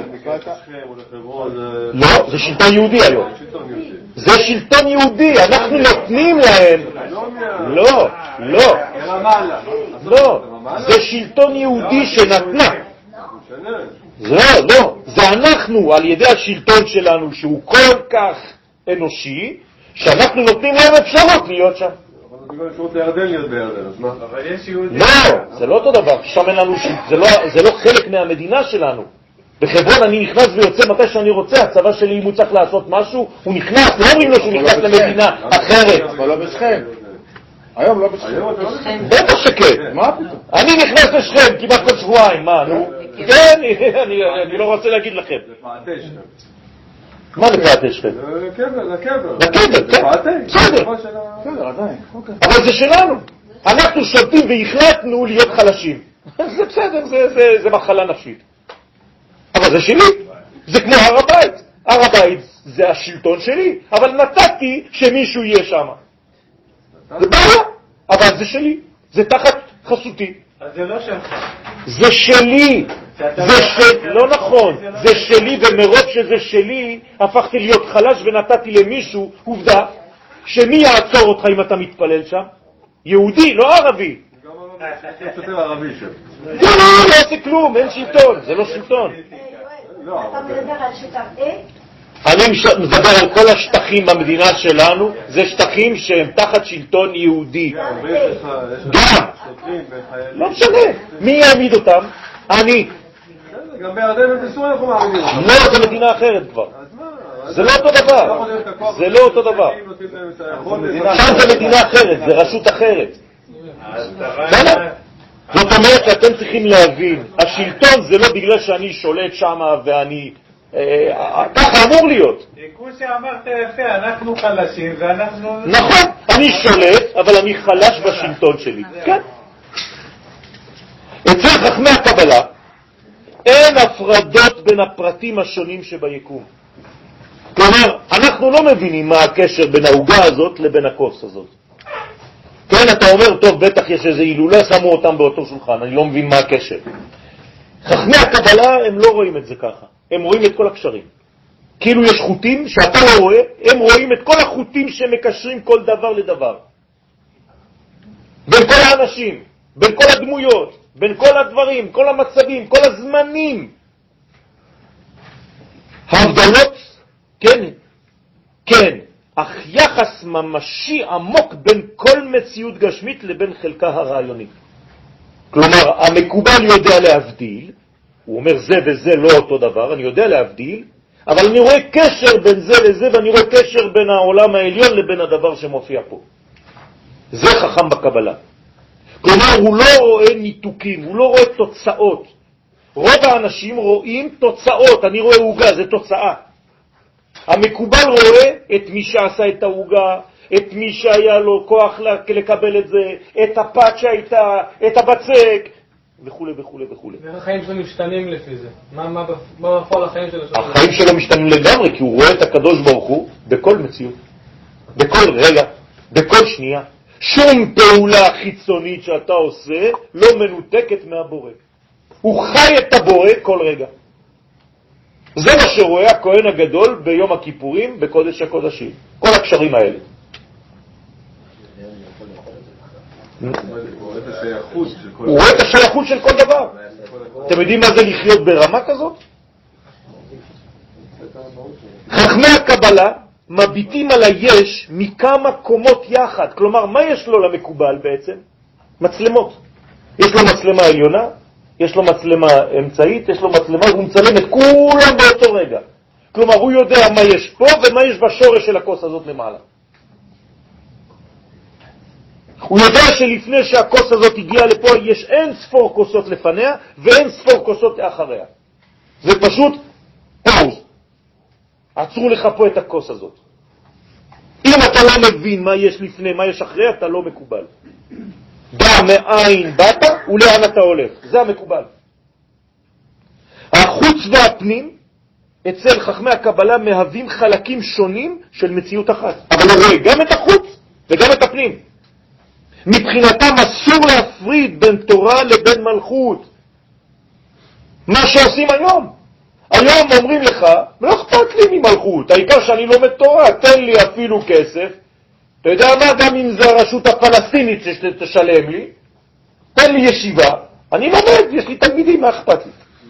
לא, זה שלטון יהודי היום. זה שלטון יהודי, אנחנו נותנים להם. לא, לא. לא, זה שלטון יהודי שנתנה. לא, זה אנחנו על ידי השלטון שלנו שהוא כל כך אנושי, שאנחנו נותנים להם אפשרות להיות שם. אבל אפשרות לירדן להיות בירדן, אז מה? אבל יש יהודים. לא, זה לא אותו דבר, שם אין לנו, זה לא חלק מהמדינה שלנו. בחברון אני נכנס ויוצא מתי שאני רוצה, הצבא שלי אם הוא צריך לעשות משהו, הוא נכנס, לא אומרים לו שהוא נכנס למדינה אחרת. אבל לא בשכם. היום לא בשכם. בטח שכן. מה פתאום? אני נכנס לשכם כמעט כל שבועיים, מה, נו? כן, אני לא רוצה להגיד לכם. זה פעתי שכם. מה זה פעתי שכם? לקבר, לקבר, כן. זה פעתי. בסדר. בסדר, עדיין. אוקיי. אבל זה שלנו. אנחנו שולטים והחלטנו להיות חלשים. זה בסדר, זה מחלה נפשית. אבל זה שלי. זה כמו הר הבית. הר הבית זה השלטון שלי, אבל נתתי שמישהו יהיה שם. זה בעיה, אבל זה שלי. זה תחת חסותי. אז זה לא שלך. זה שלי. לא נכון. זה שלי, ומרוב שזה שלי, הפכתי להיות חלש ונתתי למישהו. עובדה, שמי יעצור אותך אם אתה מתפלל שם? יהודי, לא ערבי. יש יותר ערבי שם. זה לא עושה כלום, אין שלטון, זה לא שלטון. אתה מדבר על שטח A? אני מדבר על כל השטחים במדינה שלנו, זה שטחים שהם תחת שלטון יהודי. גם. לא משנה. מי יעמיד אותם? אני. גם בירדן ובסוריה אנחנו מעמידים אותם. לא, זה מדינה אחרת כבר. זה לא אותו דבר. זה לא אותו דבר. שם זה מדינה אחרת, זה רשות אחרת. זאת אומרת שאתם צריכים להבין, השלטון זה לא בגלל שאני שולט שם ואני... ככה אמור להיות. כמו שאמרת יפה, אנחנו חלשים ואנחנו... נכון, אני שולט, אבל אני חלש בשלטון שלי. כן. אצל חכמי הקבלה אין הפרדות בין הפרטים השונים שביקום. כלומר, אנחנו לא מבינים מה הקשר בין העוגה הזאת לבין הכוס הזאת. כן, אתה אומר, טוב, בטח יש איזה הילולה, שמו אותם באותו שולחן, אני לא מבין מה הקשר. חכמי הקבלה הם לא רואים את זה ככה, הם רואים את כל הקשרים. כאילו יש חוטים שאתה לא רואה, הם רואים את כל החוטים שמקשרים כל דבר לדבר. בין כל האנשים, בין כל הדמויות, בין כל הדברים, כל המצבים, כל הזמנים. הבדלות, כן, כן, אך יחס ממשי עמוק בין כל מציאות גשמית לבין חלקה הרעיונית. כלומר, המקובל יודע להבדיל, הוא אומר זה וזה לא אותו דבר, אני יודע להבדיל, אבל אני רואה קשר בין זה לזה, ואני רואה קשר בין העולם העליון לבין הדבר שמופיע פה. זה חכם בקבלה. כלומר, הוא לא רואה ניתוקים, הוא לא רואה תוצאות. רוב האנשים רואים תוצאות, אני רואה עוגה, זה תוצאה. המקובל רואה את מי שעשה את העוגה, את מי שהיה לו כוח לקבל את זה, את הפת שהייתה, את הבצק, וכו' וכו' וכו'. החיים שלו משתנים לפי זה. מה בפועל החיים שלו? החיים שלו משתנים לגמרי, כי הוא רואה את הקדוש ברוך הוא בכל מציאות, בכל רגע, בכל שנייה. שום פעולה חיצונית שאתה עושה לא מנותקת מהבורא. הוא חי את הבורא כל רגע. זה מה שרואה הכהן הגדול ביום הכיפורים בקודש הקודשים. כל הקשרים האלה. הוא רואה את השייכות של כל דבר. אתם יודעים מה זה לחיות ברמה כזאת? חכמי הקבלה מביטים על היש מכמה קומות יחד. כלומר, מה יש לו למקובל בעצם? מצלמות. יש לו מצלמה עליונה, יש לו מצלמה אמצעית, יש לו מצלמה, הוא מצלם את כולם באותו רגע. כלומר, הוא יודע מה יש פה ומה יש בשורש של הכוס הזאת למעלה. הוא יודע שלפני שהכוס הזאת הגיעה לפה, יש אין ספור כוסות לפניה ואין ספור כוסות אחריה. זה פשוט פאוז. עצרו לך פה את הכוס הזאת. אם אתה לא מבין מה יש לפני, מה יש אחרי, אתה לא מקובל. דע מאין באת ולאן אתה הולך. זה המקובל. החוץ והפנים אצל חכמי הקבלה מהווים חלקים שונים של מציאות אחת. אבל רואה גם את החוץ וגם את הפנים. מבחינתם אסור להפריד בין תורה לבין מלכות. מה שעושים היום. היום אומרים לך, לא אכפת לי ממלכות, העיקר שאני לומד תורה, תן לי אפילו כסף. אתה יודע מה, גם אם זה הרשות הפלסטינית שתשלם לי, תן לי ישיבה, אני לומד, יש לי תלמידים, מה אכפת לי?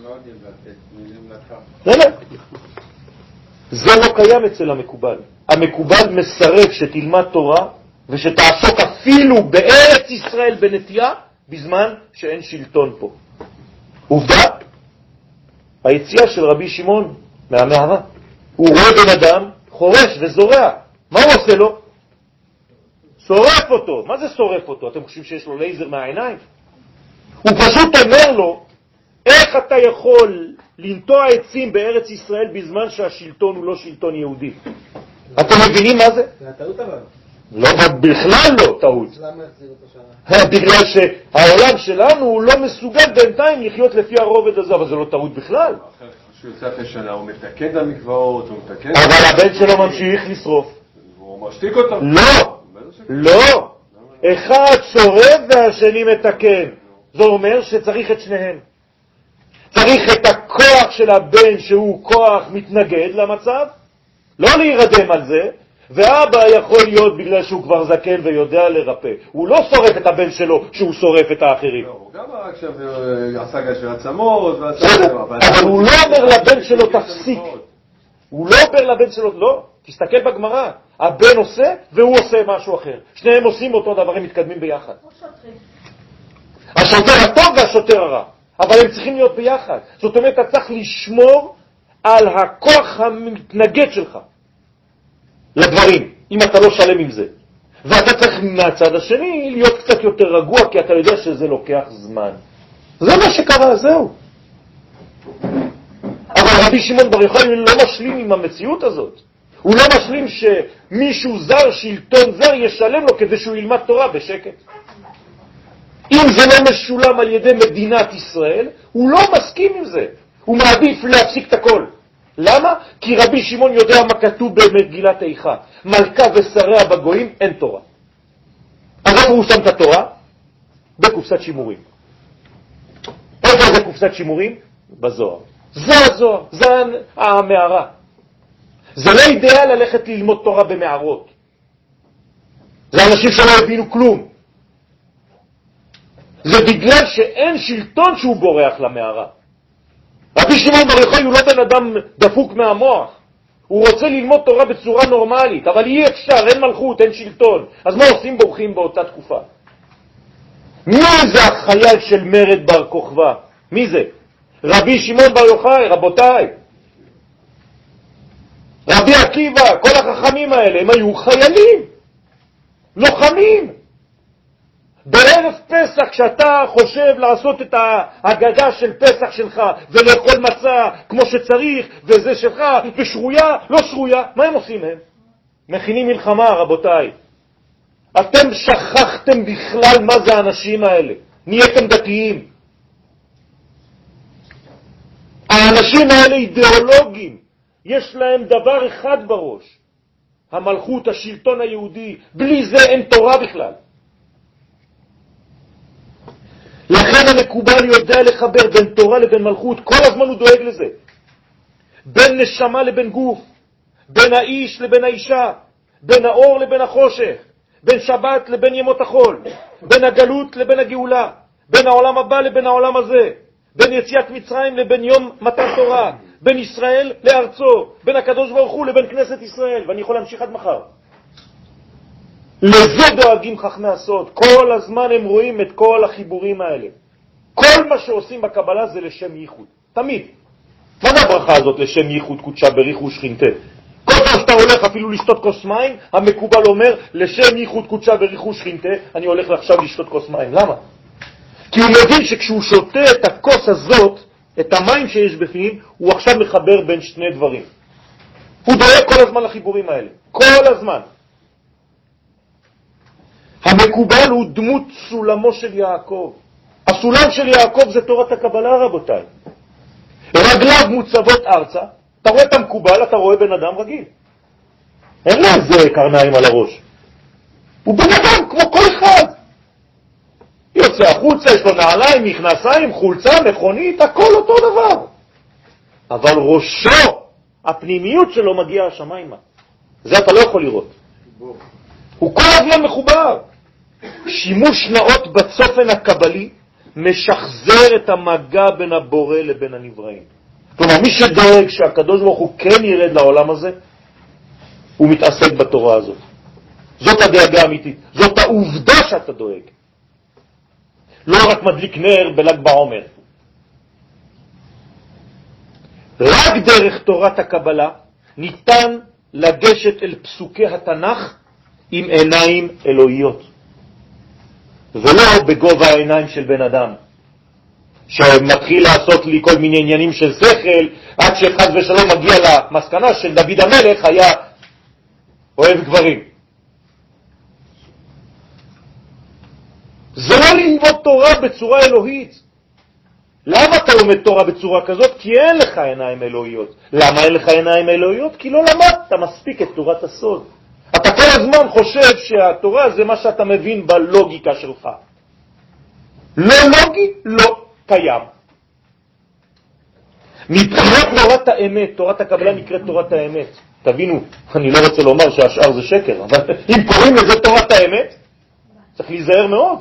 זה לא קיים אצל המקובל. המקובל מסרב שתלמד תורה ושתעסוק אפילו בארץ ישראל בנטייה בזמן שאין שלטון פה. עובדה, היציאה של רבי שמעון מהמערה. הוא רואה בן אדם חורש וזורע. מה הוא עושה לו? שורף אותו. מה זה שורף אותו? אתם חושבים שיש לו לייזר מהעיניים? הוא פשוט אומר לו, איך אתה יכול לנטוע עצים בארץ ישראל בזמן שהשלטון הוא לא שלטון יהודי? אתם מבינים מה זה? זה הטעות אבל. לא, בכלל לא טעות. למה החזיר אותו שנה? בגלל שהעולם שלנו הוא לא מסוגל בינתיים לחיות לפי הרובד הזה, אבל זה לא טעות בכלל. כשהוא יוצא אחרי שנה, הוא מתקן את המקוואות, הוא מתקן... אבל הבן שלו ממשיך לשרוף. הוא משתיק אותו. לא, לא. אחד שורף והשני מתקן. זה אומר שצריך את שניהם. צריך את הכוח של הבן שהוא כוח מתנגד למצב, לא להירדם על זה, ואבא יכול להיות בגלל שהוא כבר זקן ויודע לרפא. הוא לא שורף את הבן שלו שהוא שורף את האחרים. הוא גם עכשיו עשה גש ועצמות, אבל הוא לא אומר לבן שלו תפסיק. הוא לא אומר לבן שלו, לא. תסתכל בגמרא. הבן עושה והוא עושה משהו אחר. שניהם עושים אותו דבר, הם מתקדמים ביחד. השוטר הטוב והשוטר הרע. אבל הם צריכים להיות ביחד. זאת אומרת, אתה צריך לשמור על הכוח המתנגד שלך לדברים, אם אתה לא שלם עם זה. ואתה צריך מהצד השני להיות קצת יותר רגוע, כי אתה יודע שזה לוקח זמן. זה מה שקרה, זהו. אבל רבי שמעון בר יוחאי לא משלים עם המציאות הזאת. הוא לא משלים שמישהו זר, שלטון זר, ישלם לו כדי שהוא ילמד תורה בשקט. אם זה לא משולם על ידי מדינת ישראל, הוא לא מסכים עם זה. הוא מעדיף להפסיק את הכל. למה? כי רבי שמעון יודע מה כתוב במגילת איכה. מלכה ושריה בגויים, אין תורה. אז איפה הוא שם את התורה? בקופסת שימורים. איפה זה קופסת שימורים? בזוהר. זה הזוהר, זה המערה. זה לא אידאל ללכת ללמוד תורה במערות. זה אנשים שלא הבינו כלום. זה בגלל שאין שלטון שהוא בורח למערה. רבי שמעון בר יוחאי הוא לא בן אדם דפוק מהמוח. הוא רוצה ללמוד תורה בצורה נורמלית, אבל אי אפשר, אין מלכות, אין שלטון. אז מה עושים? בורחים באותה תקופה. מי זה החייל של מרד בר כוכבא? מי זה? רבי שמעון בר יוחאי, רבותיי. רבי עקיבא, כל החכמים האלה, הם היו חיילים, לוחמים. בערב פסח, כשאתה חושב לעשות את ההגדה של פסח שלך ולאכול מצה כמו שצריך וזה שלך ושרויה, לא שרויה, מה הם עושים הם? מכינים מלחמה, רבותיי. אתם שכחתם בכלל מה זה האנשים האלה. נהייתם דתיים. האנשים האלה אידיאולוגים. יש להם דבר אחד בראש. המלכות, השלטון היהודי. בלי זה אין תורה בכלל. לכן המקובל יודע לחבר בין תורה לבין מלכות, כל הזמן הוא דואג לזה. בין נשמה לבין גוף, בין האיש לבין האישה, בין האור לבין החושך, בין שבת לבין ימות החול, בין הגלות לבין הגאולה, בין העולם הבא לבין העולם הזה, בין יציאת מצרים לבין יום מתן תורה, בין ישראל לארצו, בין הקדוש ברוך הוא לבין כנסת ישראל, ואני יכול להמשיך עד מחר. לזה דואגים חכמי הסוד. כל הזמן הם רואים את כל החיבורים האלה. כל מה שעושים בקבלה זה לשם ייחוד. תמיד. מה זה הברכה הזאת לשם ייחוד קודשה בריחו ושכינתה? כל פעם שאתה הולך אפילו לשתות כוס מים, המקובל אומר לשם ייחוד קודשה בריחו ושכינתה, אני הולך עכשיו לשתות כוס מים. למה? כי הוא מבין שכשהוא שותה את הכוס הזאת, את המים שיש בפנים, הוא עכשיו מחבר בין שני דברים. הוא דואג כל הזמן לחיבורים האלה. כל הזמן. המקובל הוא דמות סולמו של יעקב. הסולם של יעקב זה תורת הקבלה, רבותיי. רגליו מוצבות ארצה, אתה רואה את המקובל, אתה רואה בן אדם רגיל. אין לו איזה קרניים על הראש. הוא בן אדם כמו כל אחד. יוצא החוצה, יש לו נעליים, מכנסיים, חולצה, מכונית, הכל אותו דבר. אבל ראשו, הפנימיות שלו מגיע השמיימה. זה אתה לא יכול לראות. הוא כל הזמן מחובר. שימוש נאות בצופן הקבלי משחזר את המגע בין הבורא לבין הנבראים. כלומר, מי שדואג שהקדוש ברוך הוא כן ירד לעולם הזה, הוא מתעסק בתורה הזאת. זאת הדאגה האמיתית. זאת העובדה שאתה דואג. לא רק מדליק נר בל"ג בעומר. רק דרך תורת הקבלה ניתן לגשת אל פסוקי התנ"ך עם עיניים אלוהיות. ולא בגובה העיניים של בן אדם, שמתחיל לעשות לי כל מיני עניינים של שכל, עד שחד ושלום מגיע למסקנה של דוד המלך היה אוהב גברים. זה לא ללמוד תורה בצורה אלוהית. למה אתה לומד תורה בצורה כזאת? כי אין לך עיניים אלוהיות. למה אין לך עיניים אלוהיות? כי לא למדת מספיק את תורת הסוד. אתה כל הזמן חושב שהתורה זה מה שאתה מבין בלוגיקה שלך. לא לוגי, לא קיים. מבחינת תורת האמת, תורת הקבלה נקראת תורת האמת. תבינו, אני לא רוצה לומר שהשאר זה שקר, אבל אם קוראים לזה תורת האמת, צריך להיזהר מאוד.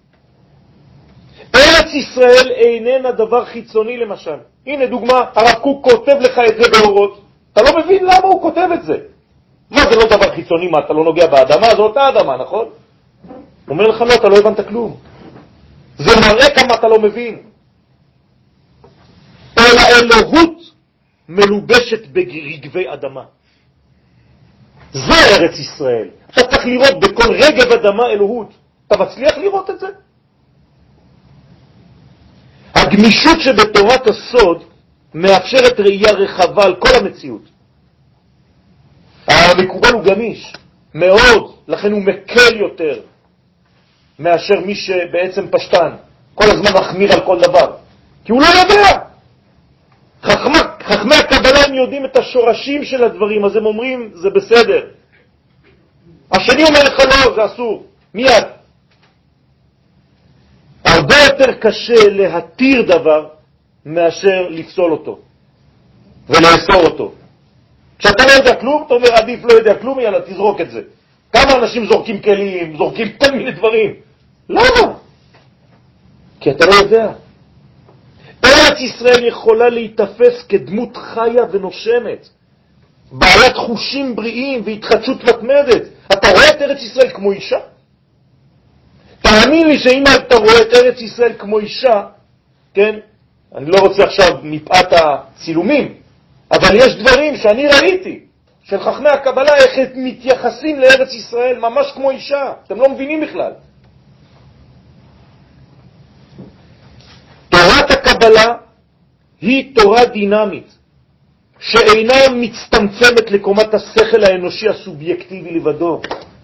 ארץ ישראל איננה דבר חיצוני למשל. הנה דוגמה, הרב קוק כותב לך את זה באורות. אתה לא מבין למה הוא כותב את זה. מה זה לא דבר חיצוני? מה, אתה לא נוגע באדמה? זו אותה אדמה, נכון? הוא אומר לך לא, אתה לא הבנת כלום. זה מראה כמה אתה לא מבין. אלא אלוהות מלובשת ברגבי אדמה. זה ארץ ישראל. אתה צריך לראות בכל רגב אדמה אלוהות. אתה מצליח לראות את זה? הגמישות שבתורת הסוד מאפשרת ראייה רחבה על כל המציאות. המקובל הוא גמיש מאוד, לכן הוא מקל יותר מאשר מי שבעצם פשטן, כל הזמן מחמיר על כל דבר, כי הוא לא יודע. חכמי הקבלה הם יודעים את השורשים של הדברים, אז הם אומרים זה בסדר. השני אומר לך לא, זה אסור, מיד. הרבה יותר קשה להתיר דבר מאשר לפסול אותו ולאסור אותו. כשאתה לא יודע כלום, אתה אומר עדיף לא יודע כלום, יאללה תזרוק את זה. כמה אנשים זורקים כלים, זורקים כל מיני דברים. למה? כי אתה לא יודע. ארץ ישראל יכולה להתאפס כדמות חיה ונושמת, בעלת חושים בריאים והתחדשות מתמדת. אתה רואה את ארץ ישראל כמו אישה? תאמין לי שאם אתה רואה את ארץ ישראל כמו אישה, כן? אני לא רוצה עכשיו מפאת הצילומים, אבל יש דברים שאני ראיתי של חכמי הקבלה, איך הם מתייחסים לארץ ישראל ממש כמו אישה. אתם לא מבינים בכלל. תורת הקבלה היא תורה דינמית, שאינה מצטמצמת לקומת השכל האנושי הסובייקטיבי לבדו.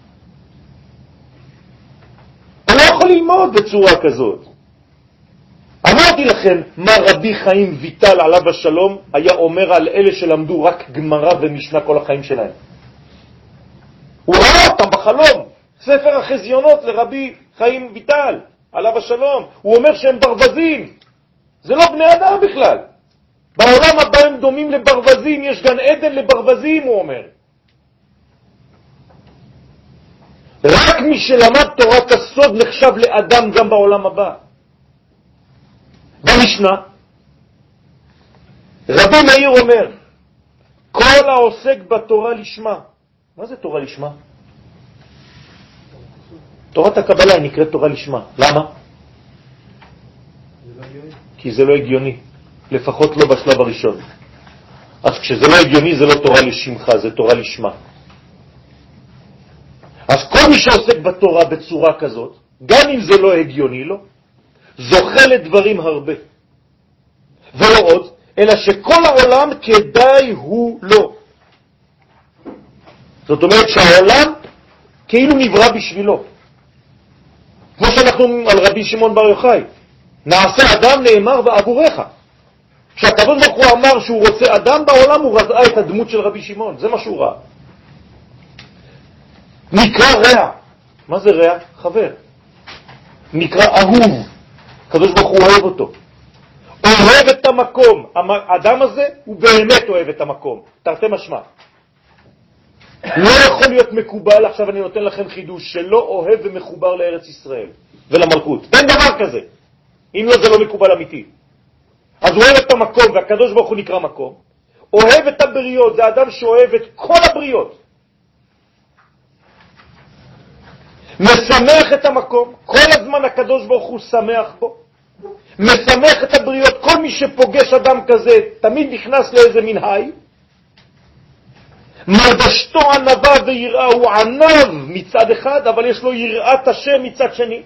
אתה לא יכול ללמוד בצורה כזאת. אמרתי לכם מה רבי חיים ויטל עליו השלום היה אומר על אלה שלמדו רק גמרא ומשנה כל החיים שלהם. הוא ראה אותם בחלום, ספר החזיונות לרבי חיים ויטל עליו השלום. הוא אומר שהם ברווזים, זה לא בני אדם בכלל. בעולם הבא הם כאן דומים לברווזים, יש גן עדן לברווזים, הוא אומר. רק מי שלמד תורת הסוד נחשב לאדם גם בעולם הבא. במשנה, רבי מאיר אומר, כל העוסק בתורה לשמה. מה זה תורה לשמה? תורת הקבלה נקראת תורה לשמה. למה? כי זה לא הגיוני, לפחות לא בשלב הראשון. אז כשזה לא הגיוני זה לא תורה לשמך, זה תורה לשמה. אז כל מי שעוסק בתורה בצורה כזאת, גם אם זה לא הגיוני לו, זוכה לדברים הרבה. ולא עוד, אלא שכל העולם כדאי הוא לא. זאת אומרת שהעולם כאילו נברא בשבילו. כמו שאנחנו על רבי שמעון בר יוחאי, נעשה אדם נאמר בעבורך. כשהקדוש ברוך הוא אמר שהוא רוצה אדם בעולם, הוא ראה את הדמות של רבי שמעון, זה מה שהוא ראה. נקרא רע. מה זה רע? חבר. נקרא אהוב. הקדוש ברוך הוא אוהב אותו. אוהב את המקום. האדם הזה הוא באמת אוהב את המקום. תרתי משמע. לא יכול להיות מקובל, עכשיו אני נותן לכם חידוש, שלא אוהב ומחובר לארץ ישראל ולמלכות. אין דבר כזה. אם לא, זה לא מקובל אמיתי. אז הוא אוהב את המקום, והקדוש ברוך הוא נקרא מקום. אוהב את הבריות, זה אדם שאוהב את כל הבריות. משמח את המקום, כל הזמן הקדוש ברוך הוא שמח בו. משמח את הבריות, כל מי שפוגש אדם כזה תמיד נכנס לאיזה מנהי. מלבשתו ענבה ויראה, הוא ענב מצד אחד, אבל יש לו יראת השם מצד שני.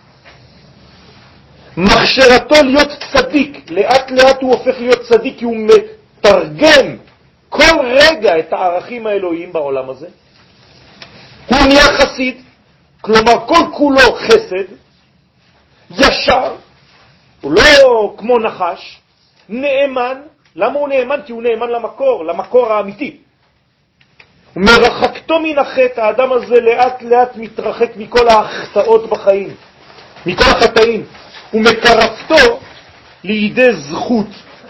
מחשרתו להיות צדיק, לאט לאט הוא הופך להיות צדיק, כי הוא מתרגם כל רגע את הערכים האלוהיים בעולם הזה. הוא נהיה חסיד, כלומר כל כולו חסד, ישר, הוא לא כמו נחש, נאמן. למה הוא נאמן? כי הוא נאמן למקור האמיתי. מרחקתו מן החטא, האדם הזה לאט לאט מתרחק מכל ההחטאות בחיים, מכל החטאים, ומקרבתו לידי זכות.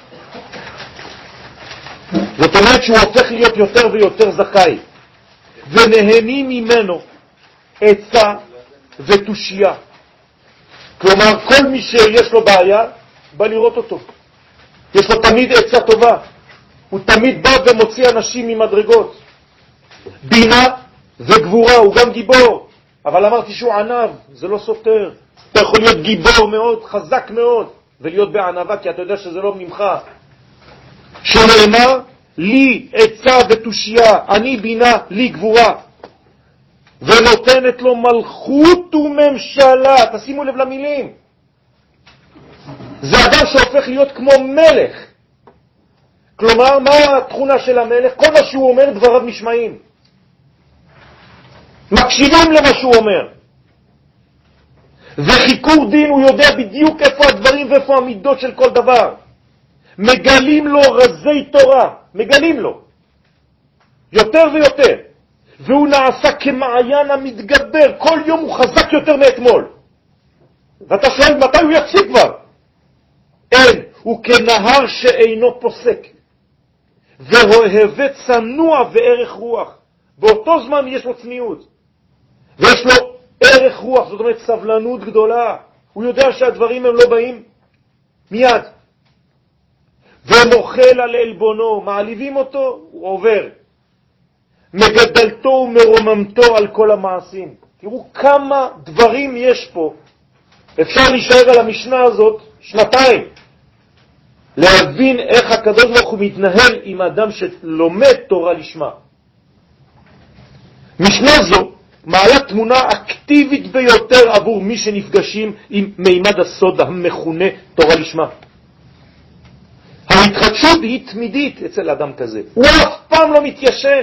זאת אומרת שהוא הופך להיות יותר ויותר זכאי, ונהנים ממנו עצה ותושייה. כלומר כל מי שיש לו בעיה בא לראות אותו, יש לו תמיד עצה טובה, הוא תמיד בא ומוציא אנשים ממדרגות. בינה וגבורה, הוא גם גיבור, אבל אמרתי שהוא ענב, זה לא סותר. אתה יכול להיות גיבור מאוד, חזק מאוד, ולהיות בענבה, כי אתה יודע שזה לא ממך. שנאמר, לי עצה ותושייה, אני בינה, לי גבורה, ונותנת לו מלכות וממשלה. תשימו לב למילים, זה אדם שהופך להיות כמו מלך. כלומר, מה התכונה של המלך? כל מה שהוא אומר דבריו נשמעים, מקשיבים למה שהוא אומר. וחיקור דין, הוא יודע בדיוק איפה הדברים ואיפה המידות של כל דבר. מגלים לו רזי תורה, מגלים לו יותר ויותר, והוא נעשה כמעיין המתגבר, כל יום הוא חזק יותר מאתמול. ואתה שואל מתי הוא יפסיק כבר? אין, הוא כנהר שאינו פוסק, ואוהב צנוע וערך רוח. באותו זמן יש לו צניעות, ויש לו ערך רוח, זאת אומרת סבלנות גדולה. הוא יודע שהדברים הם לא באים מיד. ומוכל על אלבונו, מעליבים אותו, הוא עובר. מגדלתו ומרוממתו על כל המעשים. תראו כמה דברים יש פה. אפשר להישאר על המשנה הזאת שנתיים, להבין איך הקדוש ברוך הוא מתנהל עם אדם שלומד תורה לשמה. משנה זו מעלה תמונה אקטיבית ביותר עבור מי שנפגשים עם מימד הסוד המכונה תורה לשמה. ההתחדשות היא תמידית אצל אדם כזה, הוא אף פעם לא מתיישן.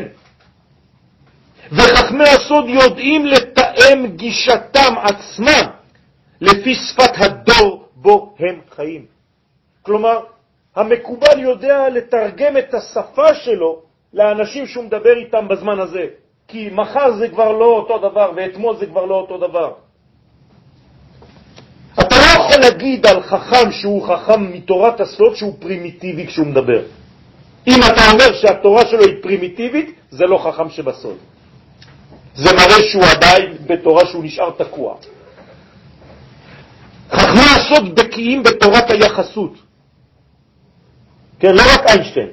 וחכמי הסוד יודעים לתאם גישתם עצמם לפי שפת הדור בו הם חיים. כלומר, המקובל יודע לתרגם את השפה שלו לאנשים שהוא מדבר איתם בזמן הזה, כי מחר זה כבר לא אותו דבר, ואתמול זה כבר לא אותו דבר. אתה לא יכול להגיד על חכם שהוא חכם מתורת הסוד שהוא פרימיטיבי כשהוא מדבר. אם אתה אומר שהתורה שלו היא פרימיטיבית, זה לא חכם שבסוד. זה מראה שהוא עדיין בתורה שהוא נשאר תקוע. חכמי הסוד בקיאים בתורת היחסות. כן, לא רק איינשטיין,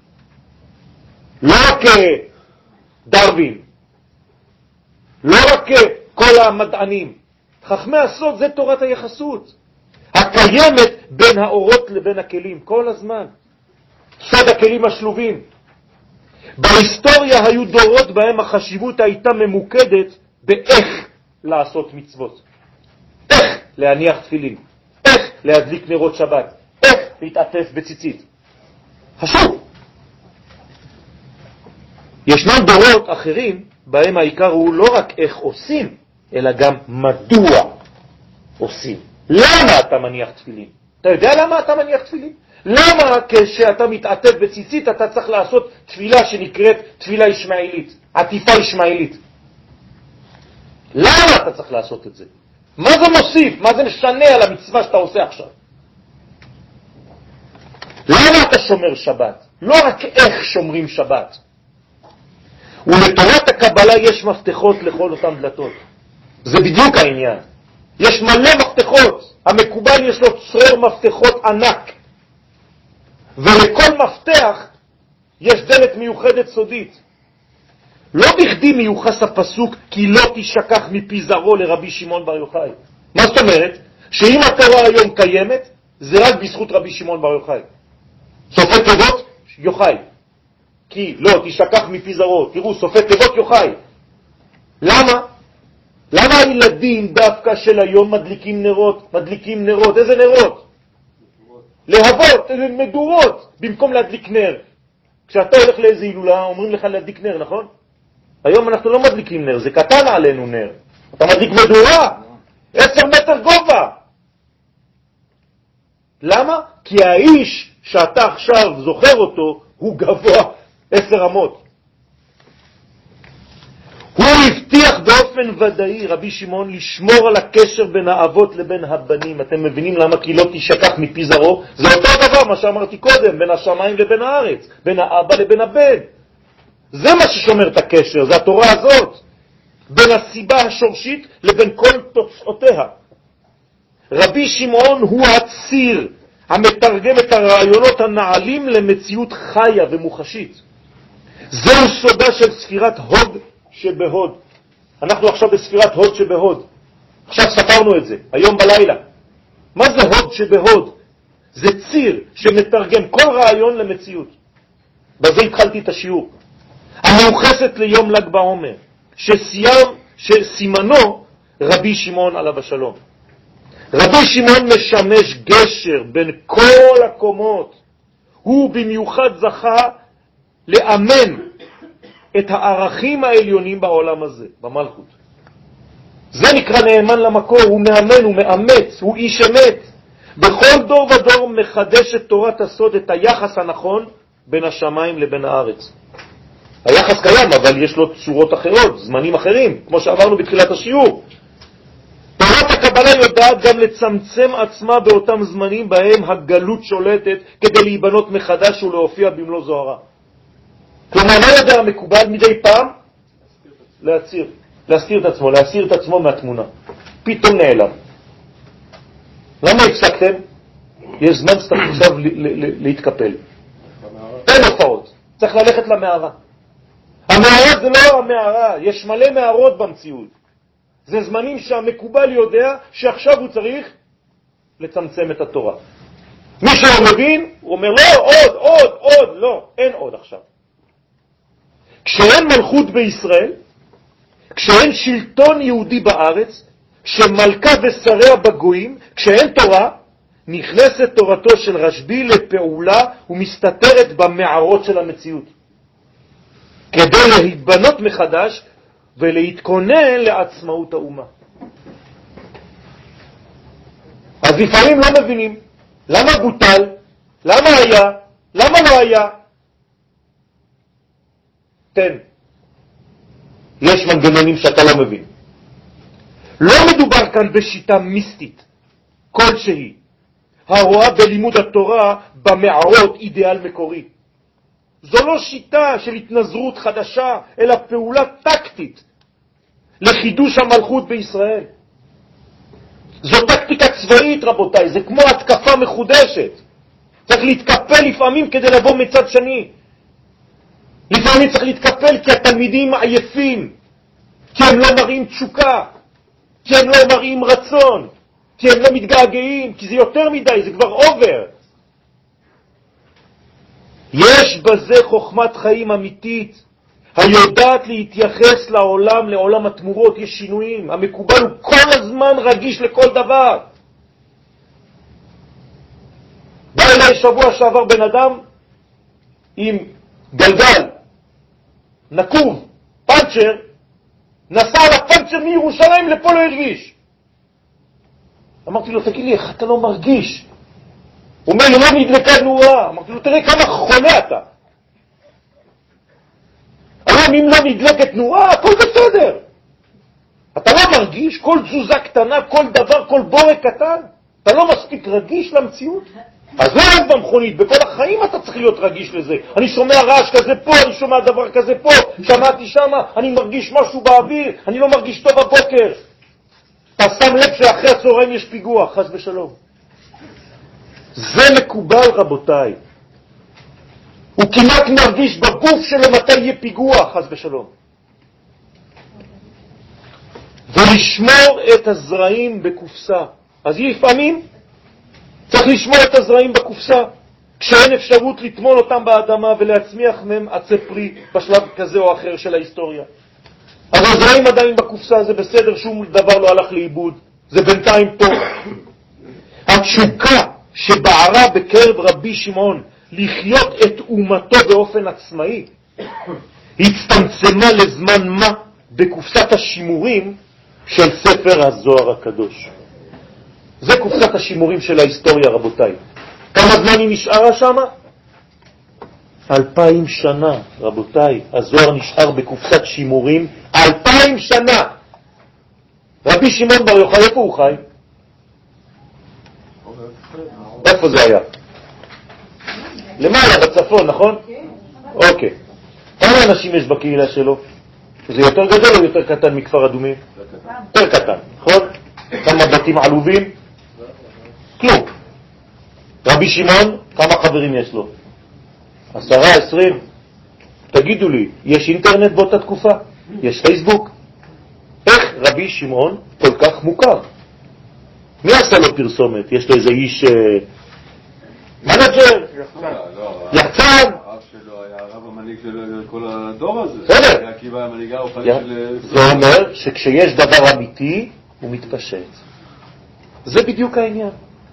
לא רק דרווין, לא רק כל המדענים. חכמי הסוד זה תורת היחסות, הקיימת בין האורות לבין הכלים כל הזמן. סוד הכלים השלובים. בהיסטוריה היו דורות בהם החשיבות הייתה ממוקדת באיך לעשות מצוות. איך להניח תפילין, איך להדליק נרות שבת, איך להתעטף בציצית. חשוב. ישנם דורות אחרים בהם העיקר הוא לא רק איך עושים, אלא גם מדוע עושים. למה אתה מניח תפילין? אתה יודע למה אתה מניח תפילין? למה כשאתה מתעטף בציצית אתה צריך לעשות תפילה שנקראת תפילה ישמעאלית, עטיפה ישמעאלית? למה אתה צריך לעשות את זה? מה זה מוסיף? מה זה משנה על המצווה שאתה עושה עכשיו? למה אתה שומר שבת? לא רק איך שומרים שבת. ולתורת הקבלה יש מפתחות לכל אותם דלתות. זה בדיוק העניין. יש מלא מפתחות. המקובל יש לו צרור מפתחות ענק. ולכל מפתח יש דלת מיוחדת סודית. לא בכדי מיוחס הפסוק כי לא תשכח מפי זרעו לרבי שמעון בר יוחאי. מה זאת אומרת? שאם התורה היום קיימת, זה רק בזכות רבי שמעון בר יוחאי. סופי תיבות יוחאי. כי לא תשכח מפי זרעו. תראו, סופי תיבות יוחאי. למה? למה הילדים דווקא של היום מדליקים נרות? מדליקים נרות. איזה נרות? להבות, מדורות, במקום להדליק נר. כשאתה הולך לאיזו הילולה, אומרים לך להדליק נר, נכון? היום אנחנו לא מדליקים נר, זה קטן עלינו נר. אתה מדליק מדורה, 10 מטר גובה. למה? כי האיש שאתה עכשיו זוכר אותו, הוא גבוה 10 אמות. הוא הבטיח באופן ודאי, רבי שמעון, לשמור על הקשר בין האבות לבין הבנים. אתם מבינים למה? כי לא תשכח מפי זרעו. זה אותו דבר מה שאמרתי קודם, בין השמיים לבין הארץ, בין האבא לבין הבן. זה מה ששומר את הקשר, זה התורה הזאת. בין הסיבה השורשית לבין כל תוצאותיה. רבי שמעון הוא הציר המתרגם את הרעיונות הנעלים למציאות חיה ומוחשית. זהו סודה של ספירת הוד שבהוד. אנחנו עכשיו בספירת הוד שבהוד. עכשיו ספרנו את זה, היום בלילה. מה זה הוד שבהוד? זה ציר שמתרגם כל רעיון למציאות. בזה התחלתי את השיעור. המיוחסת ליום ל"ג בעומר, שסימנו רבי שמעון עליו השלום. רבי שמעון משמש גשר בין כל הקומות. הוא במיוחד זכה לאמן את הערכים העליונים בעולם הזה, במלכות. זה נקרא נאמן למקור, הוא מאמן, הוא מאמץ, הוא איש אמת. בכל דור ודור מחדש את תורת הסוד, את היחס הנכון בין השמיים לבין הארץ. היחס קיים, אבל יש לו צורות אחרות, זמנים אחרים, כמו שעברנו בתחילת השיעור. תורת הקבלה יודעת גם לצמצם עצמה באותם זמנים בהם הגלות שולטת כדי להיבנות מחדש ולהופיע במלוא זוהרה. כלומר, מה יודע המקובל מדי פעם? להסתיר את עצמו מהתמונה. פתאום נעלם. למה הפסקתם? יש זמן שצריך עכשיו להתקפל. אין הופעות. צריך ללכת למערה. המערה זה לא המערה, יש מלא מערות במציאות. זה זמנים שהמקובל יודע שעכשיו הוא צריך לצמצם את התורה. מי שלא מבין, הוא אומר לא, עוד, לא, אין עוד עכשיו. כשאין מלכות בישראל, כשאין שלטון יהודי בארץ, שמלכה ושריה בגויים, כשאין תורה, נכנסת תורתו של רשב"י לפעולה ומסתתרת במערות של המציאות. כדי להתבנות מחדש ולהתכונן לעצמאות האומה. אז לפעמים לא מבינים. למה בוטל? למה היה? למה לא היה? תן. יש מנגנונים שאתה לא מבין. לא מדובר כאן בשיטה מיסטית כלשהי, הרואה בלימוד התורה במערות אידיאל מקורי. זו לא שיטה של התנזרות חדשה, אלא פעולה טקטית לחידוש המלכות בישראל. זו טקטיקה צבאית, רבותיי, זה כמו התקפה מחודשת. צריך להתקפל לפעמים כדי לבוא מצד שני. לפעמים צריך להתקפל כי התלמידים עייפים, כי הם לא מראים תשוקה, כי הם לא מראים רצון, כי הם לא מתגעגעים, כי זה יותר מדי, זה כבר אובר. יש בזה חוכמת חיים אמיתית, היודעת להתייחס לעולם, לעולם התמורות. יש שינויים. המקובל הוא כל הזמן רגיש לכל דבר. בא אליי שבוע שעבר בן אדם עם גלגל נקוב, פנצ'ר, נסע על הפנצ'ר מירושלים לפה, לא הרגיש. אמרתי לו, תגיד לי, איך אתה לא מרגיש? הוא אומר, לא נדלקה נורה. אמרתי לו, תראה כמה חולה אתה. היום אם לא נדלקת נורה, הכל בסדר. אתה לא מרגיש כל תזוזה קטנה, כל דבר, כל בורק קטן? אתה לא מספיק רגיש למציאות? אז לא רק במכונית, בכל החיים אתה צריך להיות רגיש לזה. אני שומע רעש כזה פה, אני שומע דבר כזה פה, שמעתי שמה, אני מרגיש משהו באוויר, אני לא מרגיש טוב בבוקר. אתה שם לב שאחרי הצהריים יש פיגוע, חס ושלום. זה מקובל, רבותיי. הוא כמעט מרגיש בגוף שלו מתי יהיה פיגוע, חס ושלום. ולשמור את הזרעים בקופסה. אז לפעמים צריך לשמור את הזרעים בקופסה, כשאין אפשרות לטמון אותם באדמה ולהצמיח מהם עצי פרי בשלב כזה או אחר של ההיסטוריה. אבל הזרעים עדיין בקופסה, זה בסדר, שום דבר לא הלך לאיבוד, זה בינתיים פה. התשוקה שבערה בקרב רבי שמעון לחיות את אומתו באופן עצמאי הצטמצמה לזמן מה בקופסת השימורים של ספר הזוהר הקדוש. זה קופסת השימורים של ההיסטוריה, רבותיי. כמה זמן היא נשארה שם? 2000 שנה, רבותיי. הזוהר נשאר בקופסת שימורים 2000 שנה. רבי שמעון בר יוחאי, איפה הוא חי? איפה זה היה? למעלה, בצפון, נכון? אוקיי. כמה אנשים יש בקהילה שלו? זה יותר גדול או יותר קטן מכפר אדומים? יותר קטן, נכון? כמה בתים עלובים? כלום. רבי שמעון, כמה חברים יש לו? 10, 20? תגידו לי, יש אינטרנט באותה תקופה? יש פייסבוק? איך רבי שמעון כל כך מוכר? מי עשה לו פרסומת? יש לו איזה איש מנג'ר? יחצן? הרב שלו היה הרב המנהיג של כל הדור הזה. בסדר. עקיבא היה מנהיגה רוחנית של... זה אומר שכשיש דבר אמיתי הוא מתפשט. זה בדיוק העניין.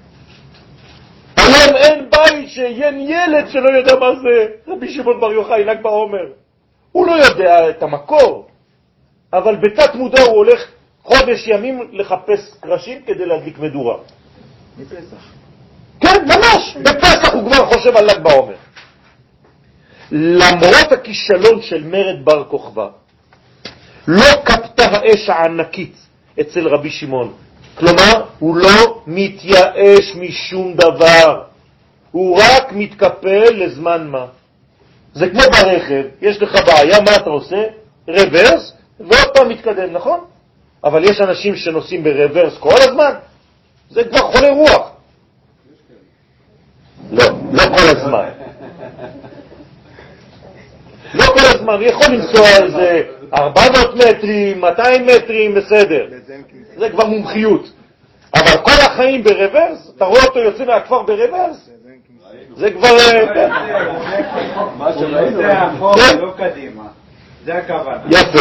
היום אין בית שאין ילד שלא יודע מה זה רבי שמעון בר יוחאי, ל"ג בעומר. הוא לא יודע את המקור, אבל בתת מודע הוא הולך חודש ימים לחפש קרשים כדי להדליק מדורה. בפסח. כן, ממש. בפסח הוא כבר חושב על ל"ג בעומר. למרות הכישלון של מרד בר כוכבא, לא קפתה האש הענקית אצל רבי שמעון. כלומר, הוא לא מתייאש משום דבר. הוא רק מתקפל לזמן מה. זה כמו ברכב, יש לך בעיה, מה אתה עושה? רוורס, ועוד פעם מתקדם, נכון? אבל יש אנשים שנוסעים ברוורס כל הזמן, זה כבר חולה רוח. לא כל הזמן. לא כל הזמן, יכול לנסוע על זה 400 מטרים, 200 מטרים, בסדר. זה כבר מומחיות. אבל כל החיים ברוורס, אתה רואה אותו יוצא מהכפר ברוורס? זה כבר... זה אחורה, לא קדימה. זה הכוונה. יפה.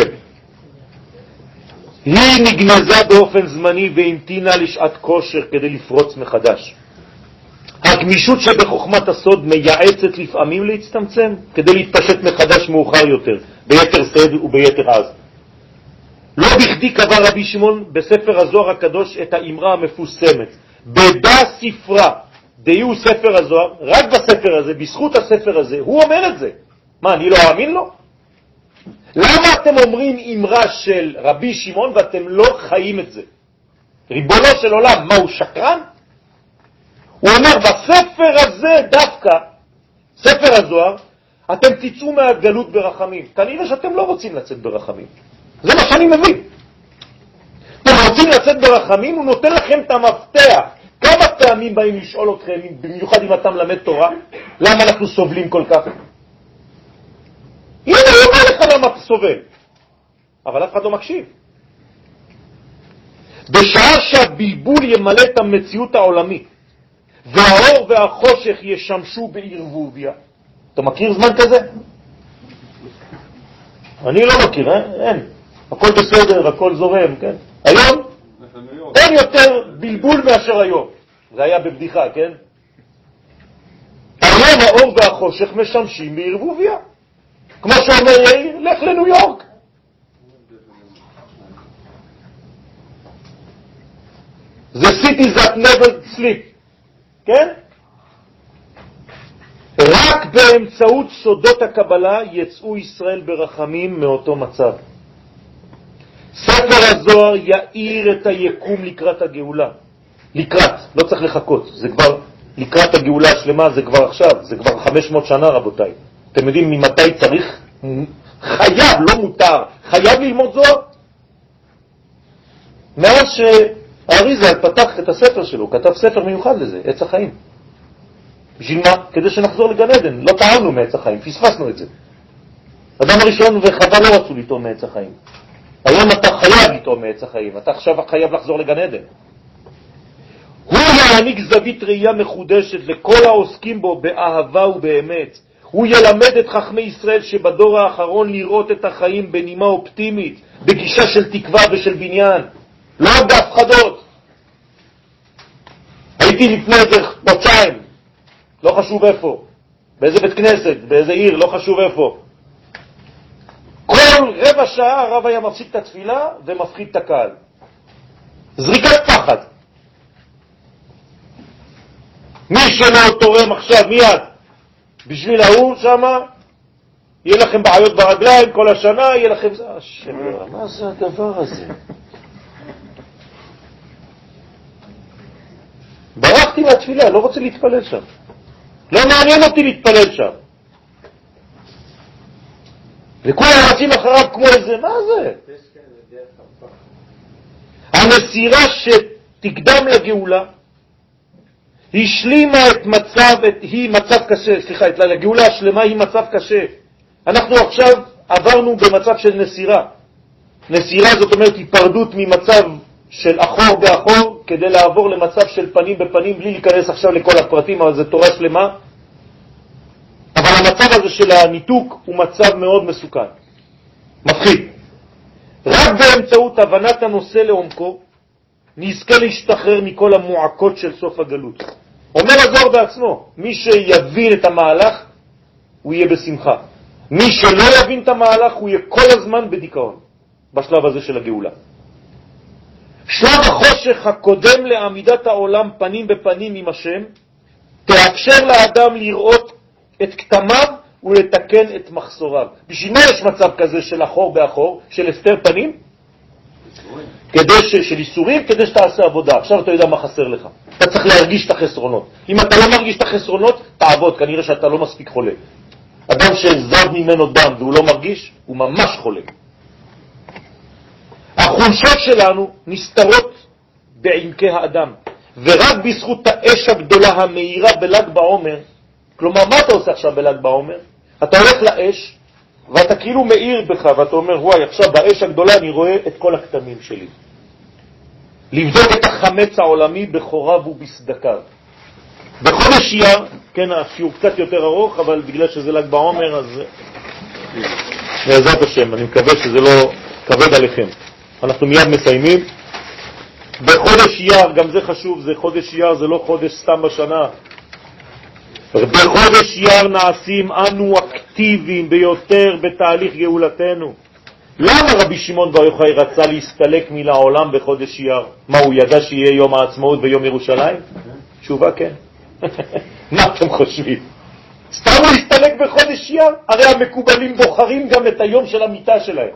היא נגנזה באופן זמני והמתינה לשעת כושר כדי לפרוץ מחדש. הגמישות שבחוכמת הסוד מייעצת לפעמים להצטמצם כדי להתפשט מחדש מאוחר יותר, ביתר שאת וביתר עז. לא בכדי קבע רבי שמעון בספר הזוהר הקדוש את האמרה המפוסמת, בדה ספרה, דהיו ספר הזוהר, רק בספר הזה, בזכות הספר הזה, הוא אומר את זה. מה, אני לא אאמין לו? למה אתם אומרים אמרה של רבי שמעון ואתם לא חיים את זה? ריבונו של עולם, מה, הוא שקרן? הוא אומר, בספר הזה דווקא, ספר הזוהר, אתם תצאו מהגלות ברחמים. כנראה שאתם לא רוצים לצאת ברחמים. זה מה שאני מבין. אתם רוצים לצאת ברחמים, הוא נותן לכם את המפתח. כמה פעמים באים לשאול אתכם, במיוחד אם אתה מלמד תורה, למה אנחנו סובלים כל כך? הנה, הוא אומר לך למה אתה סובל. אבל אף אחד לא מקשיב. בשעה שהבלבול ימלא את המציאות העולמית, והאור והחושך ישמשו בערבוביה. אתה מכיר זמן כזה? אני לא מכיר, אין. הכל בסדר, הכל זורם, כן? היום אין יותר בלבול מאשר היום. זה היה בבדיחה, כן? היום האור והחושך משמשים בערבוביה. כמו שאומר יאיר, לך לניו יורק. The cities that never sleep. כן? רק באמצעות סודות הקבלה יצאו ישראל ברחמים מאותו מצב. ספר הזוהר יאיר את היקום לקראת הגאולה. לקראת, לא צריך לחכות. זה כבר לקראת הגאולה השלמה, זה כבר עכשיו, זה כבר 500 שנה רבותיי. אתם יודעים ממתי צריך? חייב, לא מותר. חייב ללמוד זוהר. מאז שהאריזל פתח את הספר שלו, כתב ספר מיוחד לזה, עץ החיים. בשביל מה? כדי שנחזור לגן עדן. לא טעמנו מעץ החיים, פספסנו את זה. אדם הראשון וחווה לא רצו לטעום מעץ החיים. היום אתה חייב לטעום מעץ החיים, אתה עכשיו חייב לחזור לגן עדן. הוא יעניק זווית ראייה מחודשת לכל העוסקים בו באהבה ובאמת. הוא ילמד את חכמי ישראל שבדור האחרון לראות את החיים בנימה אופטימית, בגישה של תקווה ושל בניין, לא בהפחדות. הייתי לפני איזה חודשיים, לא חשוב איפה, באיזה בית כנסת, באיזה עיר, לא חשוב איפה. כל רבע שעה הרב היה מפסיק את התפילה ומפחיד את הקהל. זריקת פחד. מי שלא תורם עכשיו מיד בשביל ההוא שמה, יהיה לכם בעיות ברגליים כל השנה, יהיה לכם... השם, מה זה הדבר הזה? ברחתי מהתפילה, לא רוצה להתפלל שם. לא מעניין אותי להתפלל שם. וכולם רצים אחריו כמו איזה, מה זה? המסירה שתקדם לגאולה השלימה את מצב קשה, לגאולה השלמה היא מצב קשה. אנחנו עכשיו עברנו במצב של נסירה. נסירה זאת אומרת היפרדות ממצב של אחור באחור כדי לעבור למצב של פנים בפנים, בלי להיכנס עכשיו לכל הפרטים, אבל זה תורה שלמה. אבל המצב הזה של הניתוק הוא מצב מאוד מסוכן, מפחיד. רק באמצעות הבנת הנושא לעומקו נזכה להשתחרר מכל המועקות של סוף הגלות. אומר הזוהר בעצמו, מי שיבין את המהלך הוא יהיה בשמחה. מי שלא יבין את המהלך הוא יהיה כל הזמן בדיכאון בשלב הזה של הגאולה. שלב החושך הקודם לעמידת העולם פנים בפנים עם השם תאפשר לאדם לראות את כתמיו ולתקן את מחסוריו. בשביל מה יש מצב כזה של אחור באחור, של הסתר פנים? של איסורים, כדי שתעשה עבודה. עכשיו אתה יודע מה חסר לך. אתה צריך להרגיש את החסרונות. אם אתה לא מרגיש את החסרונות, תעבוד, כנראה שאתה לא מספיק חולה. אדם שזב ממנו דם והוא לא מרגיש, הוא ממש חולה. החולשות שלנו נסתרות בעמקי האדם, ורק בזכות האש הגדולה המאירה בל"ג בעומר. כלומר, מה אתה עושה עכשיו בל"ג בעומר? אתה הולך לאש, ואתה כאילו מאיר בך, ואתה אומר, וואי, עכשיו באש הגדולה אני רואה את כל הכתמים שלי. לבדוק את החמץ העולמי בחוריו ובסדקיו. בחודש אייר, כן, השיעור קצת יותר ארוך, אבל בגלל שזה ל"ג בעומר, אז בעזרת השם, אני מקווה שזה לא כבד עליכם. אנחנו מיד מסיימים. בחודש אייר, גם זה חשוב, זה חודש אייר, זה לא חודש סתם בשנה. בחודש אייר נעשים אנו אקטיביים ביותר בתהליך גאולתנו. למה רבי שמעון בר יוחאי רצה להסתלק מן העולם בחודש אייר? מה, הוא ידע שיהיה יום העצמאות ויום ירושלים? תשובה כן. מה אתם חושבים? סתם הוא להסתלק בחודש אייר? הרי המקובלים בוחרים גם את היום של המיטה שלהם.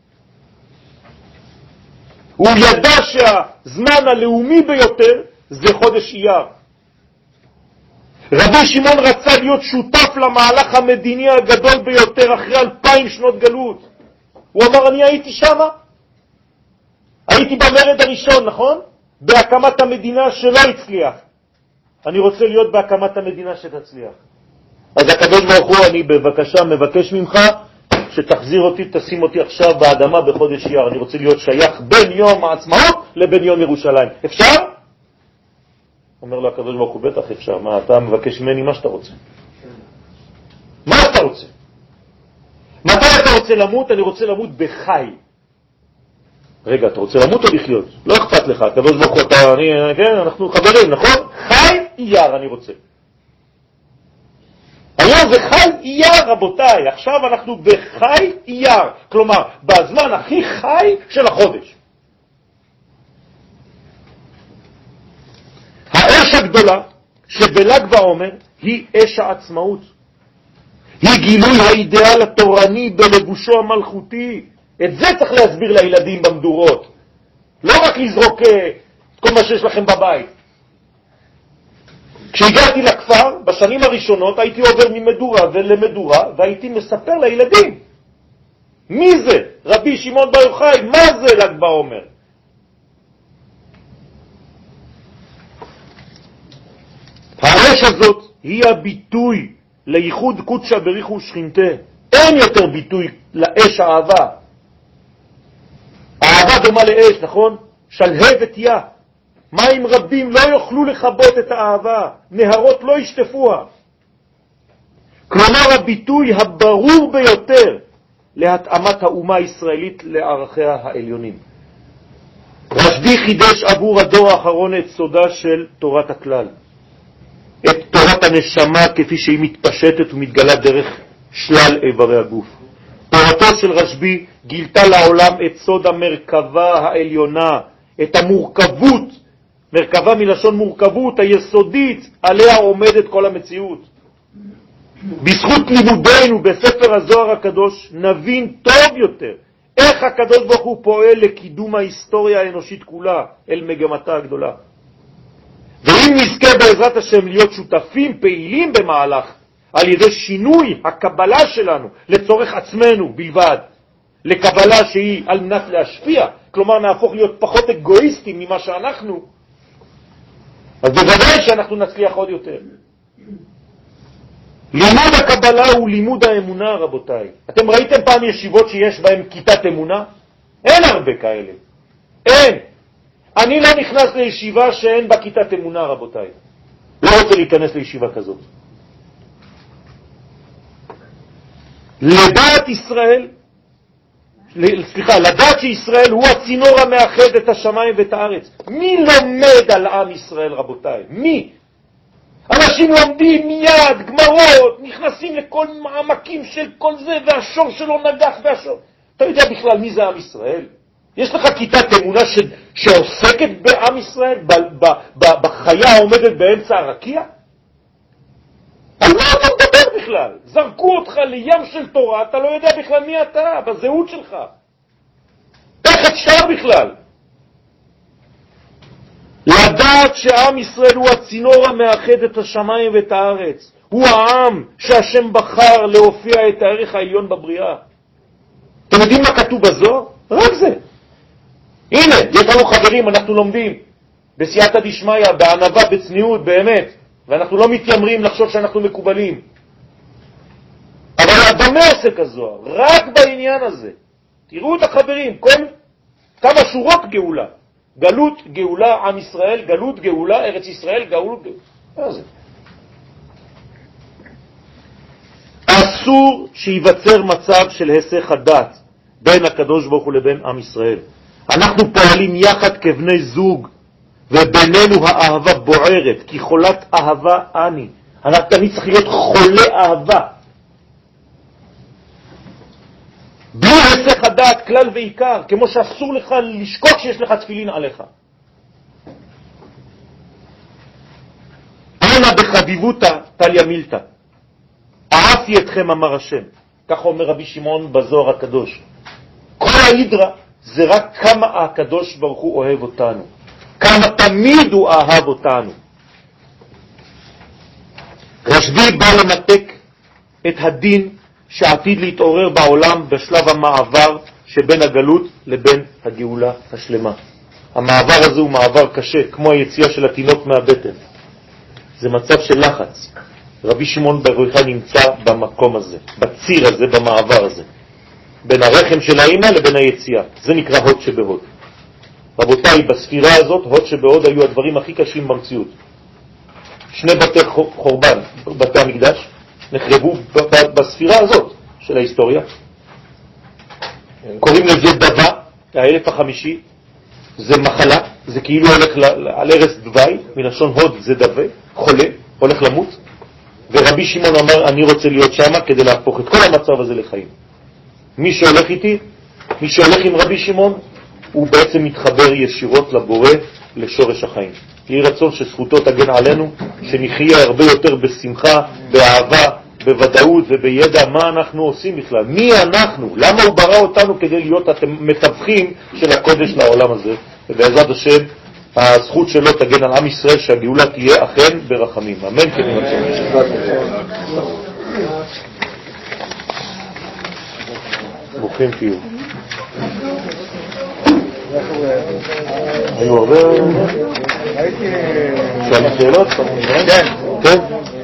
הוא ידע שהזמן הלאומי ביותר זה חודש אייר. רבי שמעון רצה להיות שותף למהלך המדיני הגדול ביותר אחרי 2000 שנות גלות. הוא אמר, אני הייתי שמה. הייתי במרד הראשון, נכון? בהקמת המדינה שלא הצליח. אני רוצה להיות בהקמת המדינה שתצליח. אז הקדוש ברוך הוא, אני בבקשה מבקש ממך שתחזיר אותי, תשים אותי עכשיו באדמה בחודש אייר. אני רוצה להיות שייך בין יום העצמאות לבין יום ירושלים. אפשר? אומר לו הקדוש ברוך הוא, בטח אפשר. מה, אתה מבקש ממני מה שאתה רוצה. מה אתה רוצה? מתי אתה רוצה למות? אני רוצה למות בחי. רגע, אתה רוצה למות או לחיות? לא אכפת לך, הקדוש ברוך הוא, כן, אנחנו חברים, נכון? חי אייר אני רוצה. היום זה חי אייר, רבותיי. עכשיו אנחנו בחי אייר. כלומר, בזמן הכי חי של החודש. האש הגדולה שבל"ג בעומר היא אש העצמאות. היא גילוי האידאל התורני בלבושו המלכותי. את זה צריך להסביר לילדים במדורות. לא רק לזרוק את כל מה שיש לכם בבית. כשהגעתי לכפר, בשנים הראשונות, הייתי עובר ממדורה ולמדורה, והייתי מספר לילדים. מי זה? רבי שמעון בר יוחאי, מה זה ל"ג בעומר? האש הזאת היא הביטוי לייחוד קודשא בריך ושכינתה. אין יותר ביטוי לאש האהבה. האהבה דומה לאש, נכון? שלהבת יה. מים רבים לא יוכלו לכבות את האהבה, נהרות לא ישטפוה. כלומר, הביטוי הברור ביותר להתאמת האומה הישראלית לערכיה העליונים. רשב"י חידש עבור הדור האחרון את סודה של תורת הכלל, את תורת הנשמה כפי שהיא מתפשטת ומתגלה דרך שלל איברי הגוף. תורתו של רשב"י גילתה לעולם את סוד המרכבה העליונה, את המורכבות, מרכבה מלשון מורכבות, היסודית עליה עומדת כל המציאות. בזכות לימודנו בספר הזוהר הקדוש נבין טוב יותר איך הקדוש ברוך הוא פועל לקידום ההיסטוריה האנושית כולה אל מגמתה הגדולה. ואם נזכה בעזרת השם להיות שותפים פעילים במהלך על ידי שינוי הקבלה שלנו לצורך עצמנו בלבד, לקבלה שהיא על מנת להשפיע, כלומר נהפוך להיות פחות אגואיסטים ממה שאנחנו, אז בוודאי שאנחנו נצליח עוד יותר. לימוד הקבלה הוא לימוד האמונה, רבותיי. אתם ראיתם פעם ישיבות שיש בהן כיתת אמונה? אין הרבה כאלה. אין. אני לא נכנס לישיבה שאין בה כיתת אמונה, רבותיי. לא רוצה להיכנס לישיבה כזאת. לדעת ישראל, לדעת שישראל הוא הצינור המאחד את השמיים ואת הארץ. מי לומד על עם ישראל, רבותיי? מי? אנשים לומדים מיד, גמרות, נכנסים לכל מעמקים של כל זה, והשור שלו נגח והשור. אתה יודע בכלל מי זה עם ישראל? יש לך כיתת אמונה שעוסקת בעם ישראל, בחיה העומדת באמצע הרקיע? על מה אתה מדבר בכלל? זרקו אותך לים של תורה, אתה לא יודע בכלל מי אתה, בזהות שלך. איך אפשר בכלל? לדעת שעם ישראל הוא הצינור המאחד את השמיים ואת הארץ. הוא העם שהשם בחר להופיע את הערך העליון בבריאה. אתם יודעים מה כתוב בזוהר? רק זה. הנה, יש לנו חברים, אנחנו לומדים בסייעתא דשמיא, בענווה, בצניעות, באמת, ואנחנו לא מתיימרים לחשוב שאנחנו מקובלים. אבל במה עוסק הזוהר? רק בעניין הזה. תראו את החברים, כמה שורות גאולה. גלות, גאולה, עם ישראל, גלות, גאולה, ארץ ישראל, גאולה, גאולה. מה זה? אסור שיווצר מצב של היסח הדעת בין הקדוש ברוך הוא לבין עם ישראל. אנחנו פועלים יחד כבני זוג, ובינינו האהבה בוערת, כי חולת אהבה אני. אני צריך להיות חולה אהבה. בלי היסח הדעת, כלל ועיקר, כמו שאסור לך לשכוח שיש לך תפילין עליך. אנא בחביבותא תליא מילתא. אהבתי אתכם, אמר השם. כך אומר רבי שמעון בזוהר הקדוש. כל ההידרה זה רק כמה הקדוש ברוך הוא אוהב אותנו. כמה תמיד הוא אהב אותנו. רשב"י בא למתק את הדין שעתיד להתעורר בעולם בשלב המעבר שבין הגלות לבין הגאולה השלמה. המעבר הזה הוא מעבר קשה, כמו היציאה של התינוק מהבטן. זה מצב של לחץ. רבי שמעון בר יוחאי נמצא במקום הזה, בציר הזה, במעבר הזה, בין הרחם של האמא לבין היציאה. זה נקרא הוד שבהוד. רבותיי, בספירה הזאת, הוד שבהוד היו הדברים הכי קשים במציאות. 2 בתי חורבן, בתי המקדש, נחרבו בספירה הזאת של ההיסטוריה. קוראים לזה דבה, האלף החמישי. זה מחלה, זה כאילו הולך על ערש דווי, מלשון הוד זה דווה, חולה, הולך למות. ורבי שמעון אמר, אני רוצה להיות שם כדי להפוך את כל המצב הזה לחיים. מי שהולך איתי, מי שהולך עם רבי שמעון, הוא בעצם מתחבר ישירות לבורא, לשורש החיים. יהי רצון שזכותו תגן עלינו, שנחיה הרבה יותר בשמחה, באהבה, בוודאות ובידע מה אנחנו עושים בכלל. מי אנחנו? למה הוא ברא אותנו כדי להיות מתווכים של הקודש לעולם הזה? ובעזרת השם, הזכות שלו תגן על עם ישראל, שהגאולה תהיה אכן ברחמים. אמן כן ירצון. ברוכים תהיו. היו הרבה... שואלים שאלות? כן. כן.